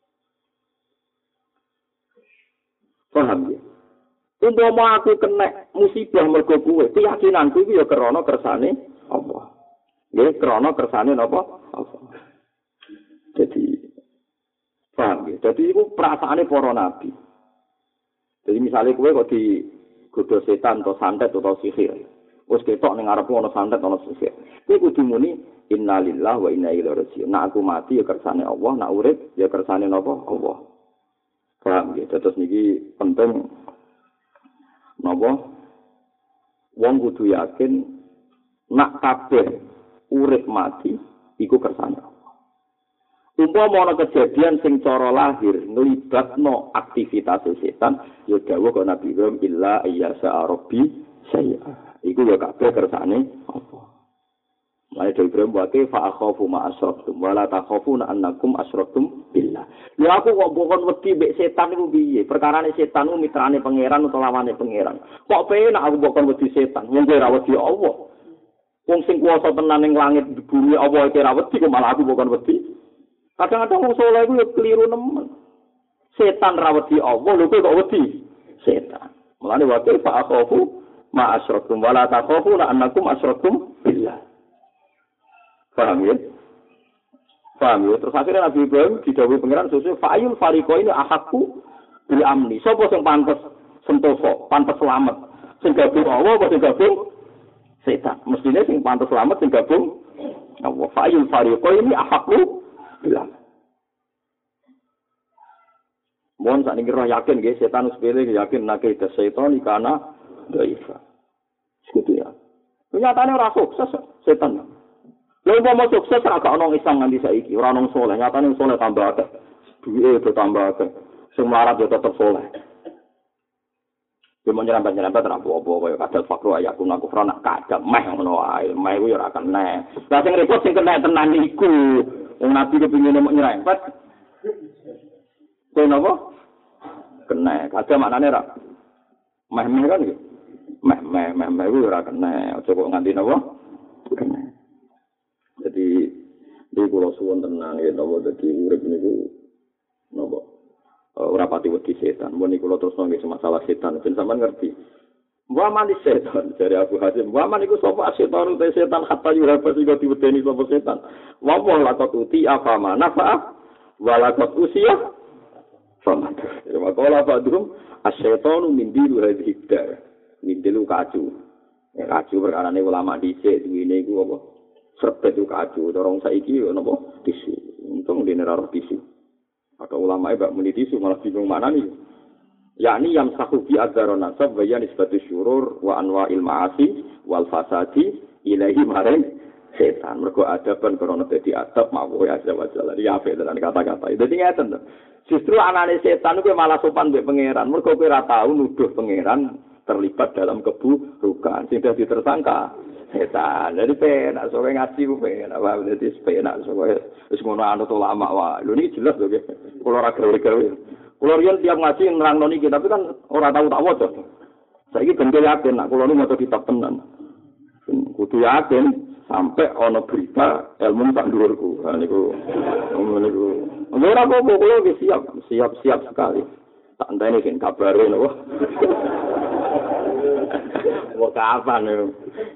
Paham ya? Umpama aku kena musibah mergo kowe, keyakinanku iki ya krana kersane Allah. Nggih, krana kersane napa? Allah. Jadi paham ya? Jadi iku perasaane para nabi. Jadi misalnya kowe kok digodho setan atau santet atau sihir. Wis ketok ning ngarepmu ana santet ana sihir. Kowe kudu muni innalillahi wa inna ilaihi raji'un. Nek aku mati ya kersane Allah, nek urip ya kersane napa? Allah. Paham ya? Terus niki penting napa wong kudu yakin nak kabeh urip mati iku kersane Allah. Umpama ana kejadian sing cara lahir nglibatno aktivitas setan, ya dawuh kok Nabi Ibrahim illa ayyasa rabbi saya. Iku ya kabeh kersane Allah. Mulai dari Ibrahim wate fa akhafu ma asyraktum wa la takhafuna annakum asyraktum billah. Lha aku kok bukan wedi mbek setan iku piye? Perkarane setan ku mitrane pangeran utawa lawane pangeran. Kok penak aku bukan wedi setan, wong ora wedi Allah. Wong sing kuwasa tenan ning langit bumi Allah iki ora wedi kok malah aku bukan wedi. Kadang-kadang wong saleh iku yo keliru nemen. Setan ra wedi Allah, lho kok wedi setan. Mulane wate fa akhafu ma asyraktum wa la takhafuna annakum asyraktum billah. Paham ya? Paham ya? Terus akhirnya Nabi Ibrahim didhawuhi pangeran sesuai fa'ayul fariqo ini ahakku bil amni. Sapa sing pantes sentosa, pantes selamat? Sing gabung Allah apa sing gabung setan? Mestine sing pantes selamat sing gabung Allah. Fa'ayul fariqo ini ahakku bil amni. Mohon sakniki roh yakin nggih setan sepele yakin nek ada setan ikana dhaifa. Seperti ya. Nyatane ora sukses setan. Lha umpama sukses ora gak ono isang nganti saiki, ora ono saleh, nyatane saleh tambah akeh. Duwe do tambah akeh. Sing melarat yo tetep saleh. Yo nyerempet-nyerempet ora apa-apa kaya kadal fakru ayakun aku ora nak kadal meh ngono wae, meh kuwi ora kena. Lah sing repot sing kena tenan iku. Wong nabi kepengin nek nyerempet. Kowe napa? Kena. Kadal maknane ora meh-meh kan iki. Meh-meh meh-meh kuwi ora kena. Aja kok nganti napa? suwun tenan ya napa dadi urip niku napa ora pati wedi setan. Mun niku kula terus nggih masalah setan ben sampean ngerti. Wa man setan dari Abu Hazim. Wa man iku sapa setan te setan hatta yuraba sing diwedeni sapa setan. Wa wa laqad uti afama nafa wa laqad usiya fama. Ya makalah badrum as-syaitanu min dilu hadhihi dar. Min dilu kacu. Ya kacu perkarane ulama dhisik duwene iku apa? Serbet itu kacu, dorong saiki yo napa tisu. Untung dene ora tisu. Atau ulama e bak muni tisu malah bingung mana nih. Yakni yang sahu bi adzar nasab wa nisbatu syurur wa anwa'il ma'asi wal fasadi ilahi maring setan. Mergo adaban krana dadi adab mawu ya azza wa jalla. Ya ape dengan kata-kata. Dadi ngeten to. Justru anane setan kuwi malah sopan mbek pangeran. Mergo kowe ora tau nuduh pangeran terlibat dalam keburukan. Sing dadi tersangka setan. Jadi penak sowe ngaji ku penak wae dadi penak sowe wis ngono anut ulama wae. Lho niki jelas lho nggih. Kula ora gawe-gawe. Kula riyen tiap ngaji nerangno niki tapi kan ora tau tak waca. Saiki ben yakin nek kula nu maca kitab tenan. Kudu yakin sampai ana berita ilmu tak dhuwurku. Ha niku niku. Ora apa-apa kula wis siap, siap-siap sekali. Tak enteni sing kabare napa. Kok kapan ya?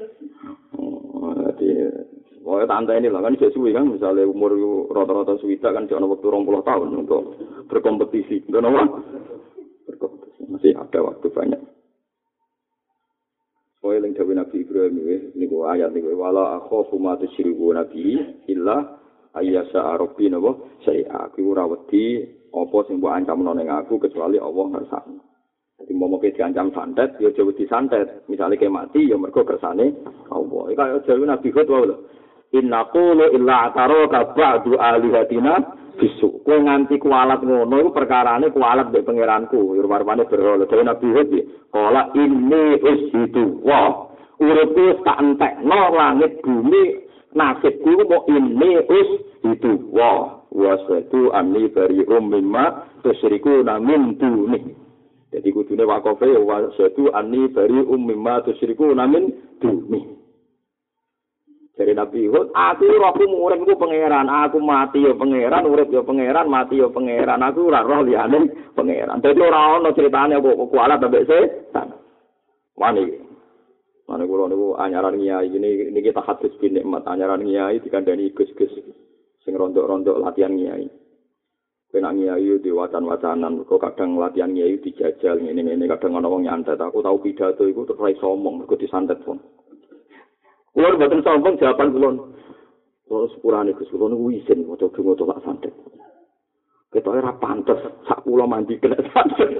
Pokoknya tante ini lah kan bisa suwi kan, misalnya umur rata-rata suwita kan cuma waktu dua puluh tahun untuk berkompetisi, enggak nama? Berkompetisi masih ada waktu banyak. Pokoknya yang dari Nabi Ibrahim ini gua ayat ini wala akhofu ma tusyriku nabi illa ayyasha rabbi napa saya aku ora wedi apa sing mbok ancamno ning aku kecuali Allah ngersakno. Jadi mau mau diancam santet, ya jauh disantet. Misalnya kayak mati, ya mereka kersane Allah. Ini kayak jauh Nabi Hud wae lho. Inna qulu illa ataraka ba'du alihatina bisu. Kowe nganti kualat ngono iku perkarane kualat mbek pangeranku. Warwane berhala. Jauh Nabi Hud iki, qala inni ushidu wa uripku tak entekno langit bumi nasibku mau inni ushidu wa wasatu anni bari'um mimma tusyrikuna min duni. Jadi kudune wakofe wa satu anni bari ummimma tusyriku namin dumi. Dari Nabi Hud, aku rohku urip iku pangeran, aku mati ya pangeran, urip ya pangeran, mati ya pangeran, aku ora roh liyane pangeran. Dadi ora ono critane kok kualat ambek setan. Wani. Mane kula niku anyaran kiai ini niki tahadus bin nikmat anyaran kiai dikandani gus-gus sing rondok-rondok latihan kiai. Kena ngiayu di wacan-wacanan, kok kadang latihan ngiayu dijajal, ini-ini kadang ada orang nyantet. Aku tahu pidato itu terus sombong, aku disantet pun. Kulon batin sombong, jawaban kulon. Kulon sepurane Gus kulon itu izin, mau coba tak santet. Kita era pantas, sak pulau mandi kena santet.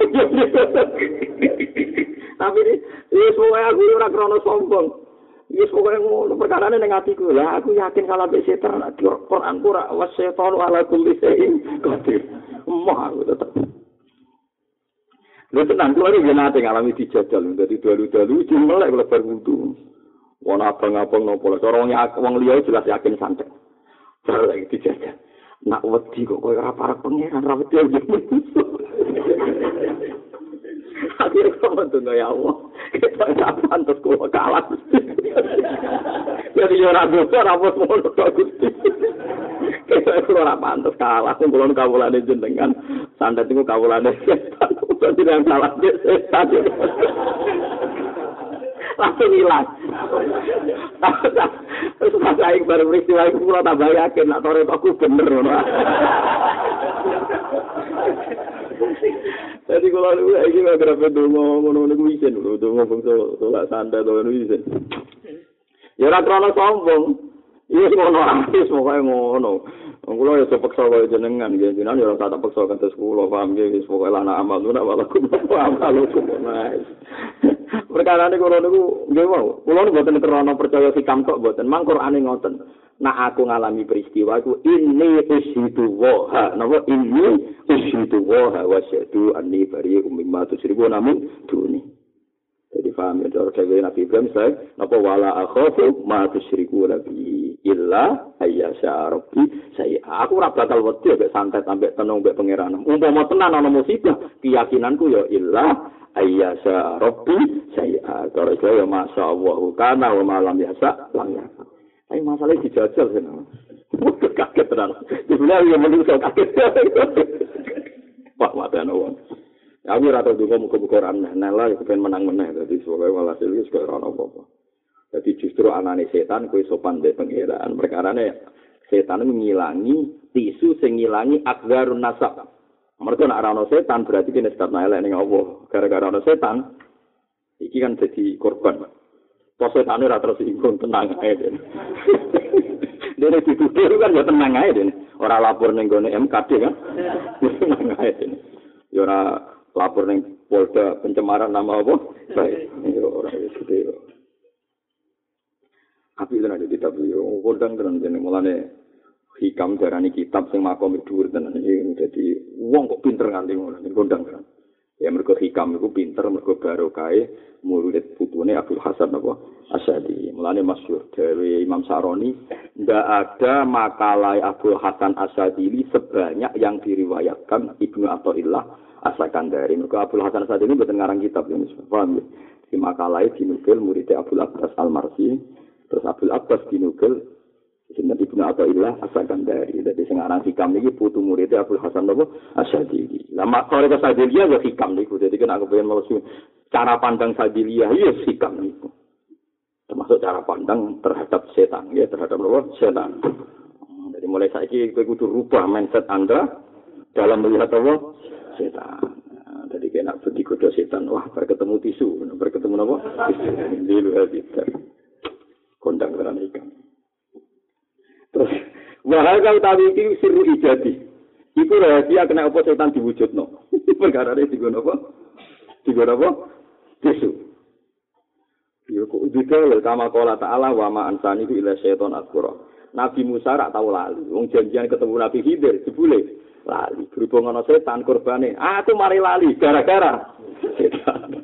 Tapi ini semua aku ora krono sombong. Yes pokoke ngono perkarane ning atiku. Lah aku yakin kalau mbek setan di Quran ora wasyaiton ala kulli shay'in qadir. Emah aku tetep. Lha tenan kuwi iki nate ngalami dijajal dadi dalu-dalu jimelek lebar wudu. Wong abang-abang nopo cara wong liya jelas yakin santet. Cara lagi dijajal. Nak wedi kok kowe ora parek pangeran ra wedi. Akhirnya kamu tunggu ya Allah. Kita tak pantas kalau kalah. Jadi orang dosa rambut mulut Gusti. Kita orang pantas kalah. Kumpulan kabulan jenengan. Santet itu kabulan setan. Bukan tidak salah setan. Langsung hilang. Terus pas saya baru peristiwa itu pulau tambah yakin. Nak tore aku bener. Jadi kalau lu lagi nggak kerap dongo ngono ngono isin, lu dongo bangsa tolak santai dongo isin. Ya ora krono sombong. Iya ngono artis pokoke ngono. Wong kula ya sepeksa kaya jenengan nggih, jenengan ya ora tak peksa kanthi kula paham nggih wis pokoke lan amal lu nak walaku amal lu mas. Perkarane kula niku nggih wae. Kula niku mboten krono percaya sikam tok mboten. Mang Qur'ane ngoten. Nah aku ngalami peristiwa iku ini ushidu wa napa ini ushidu wa wa syadu anni bari umma tusyriku namun duni. Jadi paham ya dari Nabi Ibrahim saya napa wala akhafu ma tusyriku nabi illa ayyasha rabbi saya aku ora bakal wedi mek santet ambek tenung mek pangeran. Umpama tenan ana musibah keyakinanku ya illa ayyasha rabbi saya kalau saya masyaallah kana wa ma lam yasa lam yasa. Ayo masalah dijajal kan. Kaget tenan. Sebenarnya yang menungso kaget. Pak mata wong. Ya aku ora tau donga muga-muga ora nela ya kepen menang meneh dadi soalé walhasil wis kaya ora apa-apa. Dadi justru anane setan kowe sopan mbek pangeran. Perkarane setan ngilangi tisu sing ngilangi akdarun nasab. Mergo nek ora ana setan berarti kene start elek ning Allah. Gara-gara ana setan iki kan dadi korban. Pas setane ora terus ingkung tenang ae den. Dene ditutur kan ya tenang ae den. Ora lapor ning gone M K D kan. Tenang ae den. Ya ora lapor ning Polda pencemaran nama apa? Baik. Ya ora wis gede yo. Api tenan iki kitab yo kondang tenan dene mulane hikam darani kitab sing makom dhuwur tenan iki dadi wong kok pinter nganti ngono kondang tenan. Ya mergo hikam iku pinter mergo barokahe murid putune Abdul Hasan apa Asy'ari. Mulane masyhur dari Imam Saroni, ndak ada makalah Abdul Hasan Asy'ari sebanyak yang diriwayatkan Ibnu Athaillah As-Sakandari. Mergo Abdul Hasan Asy'ari ini mboten ngarang kitab ya, paham ya. Di makalah dinukil murid Abdul Abbas Al-Marsi, terus Abdul Abbas dinukil sinten Ibnu Athaillah As-Sakandari. Dadi sing aran hikam iki putu murid Abdul Hasan apa Asy'ari. Lah makore Sadiliyah ya hikam niku. Dadi kan aku pengen mau cara pandang Sadiliyah ya hikam niku. Termasuk cara pandang terhadap setan ya, terhadap apa? Setan. Jadi mulai saiki kowe kudu rubah mindset Anda dalam melihat apa? Setan. Nah, jadi kena digoda setan, wah berketemu tisu, berketemu apa? Tisu. Di luar kita. Kondang tenan ikan. Terus wahai utawi iki siru ijadi. Iku rahasia kena apa setan diwujudno. Perkarane digono apa? Digono apa? Tisu. Yo kok detail kama qala ta'ala wa ma ansani ila syaiton asqura. Nabi Musa rak tau lali. Wong janjian ketemu Nabi Khidir jebule lali. Berhubung ana setan korbane. Ah aku mari lali gara-gara setan.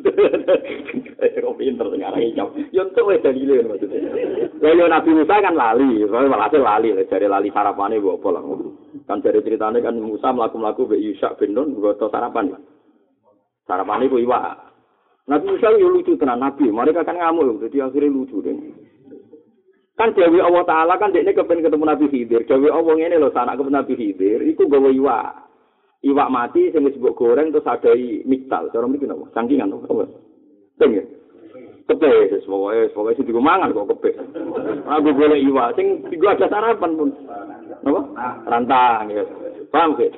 Kok pinter ngarang iki. Yo entuk wis dalile maksudnya. Lah yo Nabi Musa kan lali, malah lali, jare lali sarapane mbok apa lah. Kan dari ceritane kan Musa mlaku-mlaku mbek Yusha bin Nun goto sarapan. Sarapane ku iwak. Nabi Musa yo lucu tenan Nabi, mereka kan ngamuk jadi akhirnya lucu deh. Kan Dewi Allah Ta'ala kan dekne kepen ketemu Nabi Khidir. Dewi Allah ngene lho sanak ketemu Nabi Khidir, iku gawe iwak. Iwak mati sing wis mbok goreng terus adai miktal. Cara mriki napa? Sangkingan apa? Teng ya. Kepe wis pokoke pokoke sing digo mangan kok kepe. Aku golek iwak sing digo ada sarapan pun. Napa? Rantang ya. Paham ke?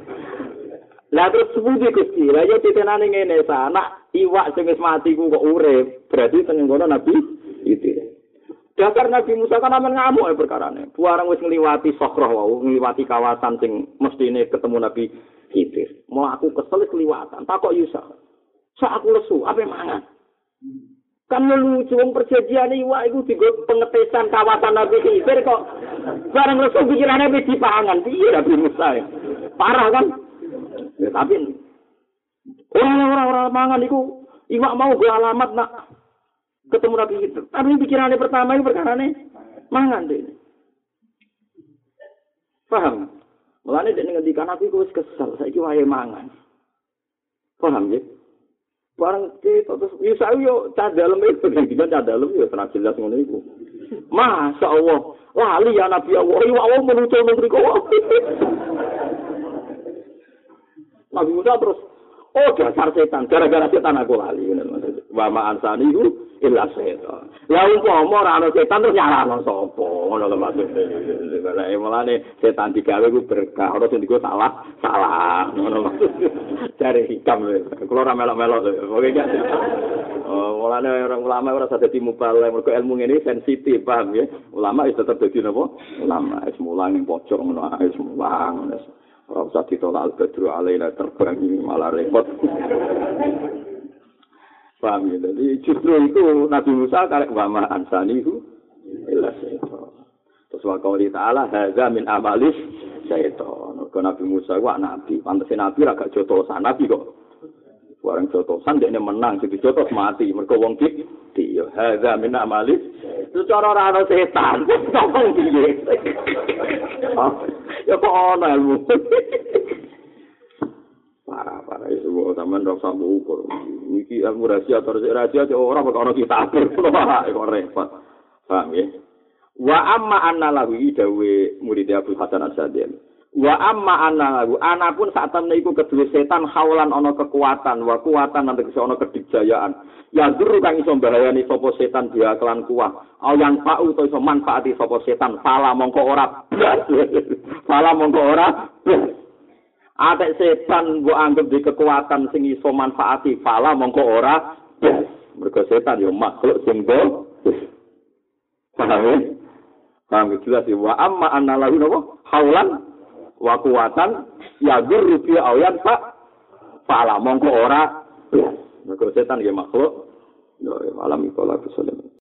Lah terus sepundi Gusti, lah yo titenane ngene sanak iwak sing wis mati ku kok urip, berarti teng ngono Nabi itu. Dasar Nabi Musa kan amen ngamuk e perkarane. Buarang wis ngliwati Sokroh wau, ngliwati kawasan sing mestine ketemu Nabi Khidir. Mau aku kesel kliwatan, takok Yusuf. Sak aku lesu, ape mangan? Kan lucu wong perjanjian iwak iku digo pengetesan kawasan Nabi Khidir kok bareng lesu pikirane wis dipangan. Piye Nabi Musa ya? Parah kan? Ya, tapi orang-orang mangan itu iwak mau gue alamat nak ketemu Nabi itu. Tapi pikirannya pertama itu perkarane mangan deh. Paham? Mulane dek ngendikan Nabi gue kesel. Saiki wae mangan. Paham ya? Barang kita terus Yusuf yo cah dalem itu ngendikan cah dalem yo tenan jelas ngono iku. Masya Allah, lali ya Nabi Allah. Iwak Allah menuju mriku. Nabi Musa terus, oh dasar setan, gara-gara setan aku lali. Wa ma ansani itu illa setan. Ya umpama ora ana setan terus nyalahno sapa? Ngono lho maksudnya. Lah mulane setan digawe ku berkah, ora sing digo salah, salah. Ngono maksudnya. Cari hikam lho. Kulo ora melok-melok lho. Pokoke gak. Oh, mulane orang ulama ora sadar mubalagh, mergo ilmu ngene sensitif, paham ya? Ulama wis tetep dadi napa? Ulama wis mulang ning pojok ngono ae wis mulang. Ora usah ditolak al-badru alaina terbang ini malah repot. Paham ya? Jadi justru itu Nabi Musa karek wama ansani itu illa syaitan. Terus wa qauli ta'ala hadza min amalis syaitan. Kok Nabi Musa wak nabi, pantese nabi ra gak jotosan nabi kok. Barang jotosan dekne menang sing dijotos mati mergo wong iki ya hadza min amalis. Itu cara ora ana setan. Tolong piye? Ya kok ana ilmu. Parah-parah itu sampean ora usah ukur. Iki ilmu rahasia atau rahasia ora bakal ana kitab. Kok repot. Paham ya? Wa amma anna lahu dawe murid Abu Hasan Asy'ari. Wa amma anna lahu ana pun sak temne iku kedue setan haulan ana kekuatan, wa kuwatan nanti iso ana kedikjayaan. Ya guru kang iso bahayani sapa setan dia kelan kuah. Au yang fa'u to iso manfaati sapa setan, fala mongko ora. Fala mongko ora. Atek setan mbok anggap di kekuatan sing iso manfaati, fala mongko ora. Mergo setan yo makhluk sing do. Paham ya? Paham jelas ya. Wa amma anna lahu napa? Haulan wa kuwatan ya guru fi ayan fa fala mongko ora. Mergo setan ya makhluk. Ya alam ikola kesulitan.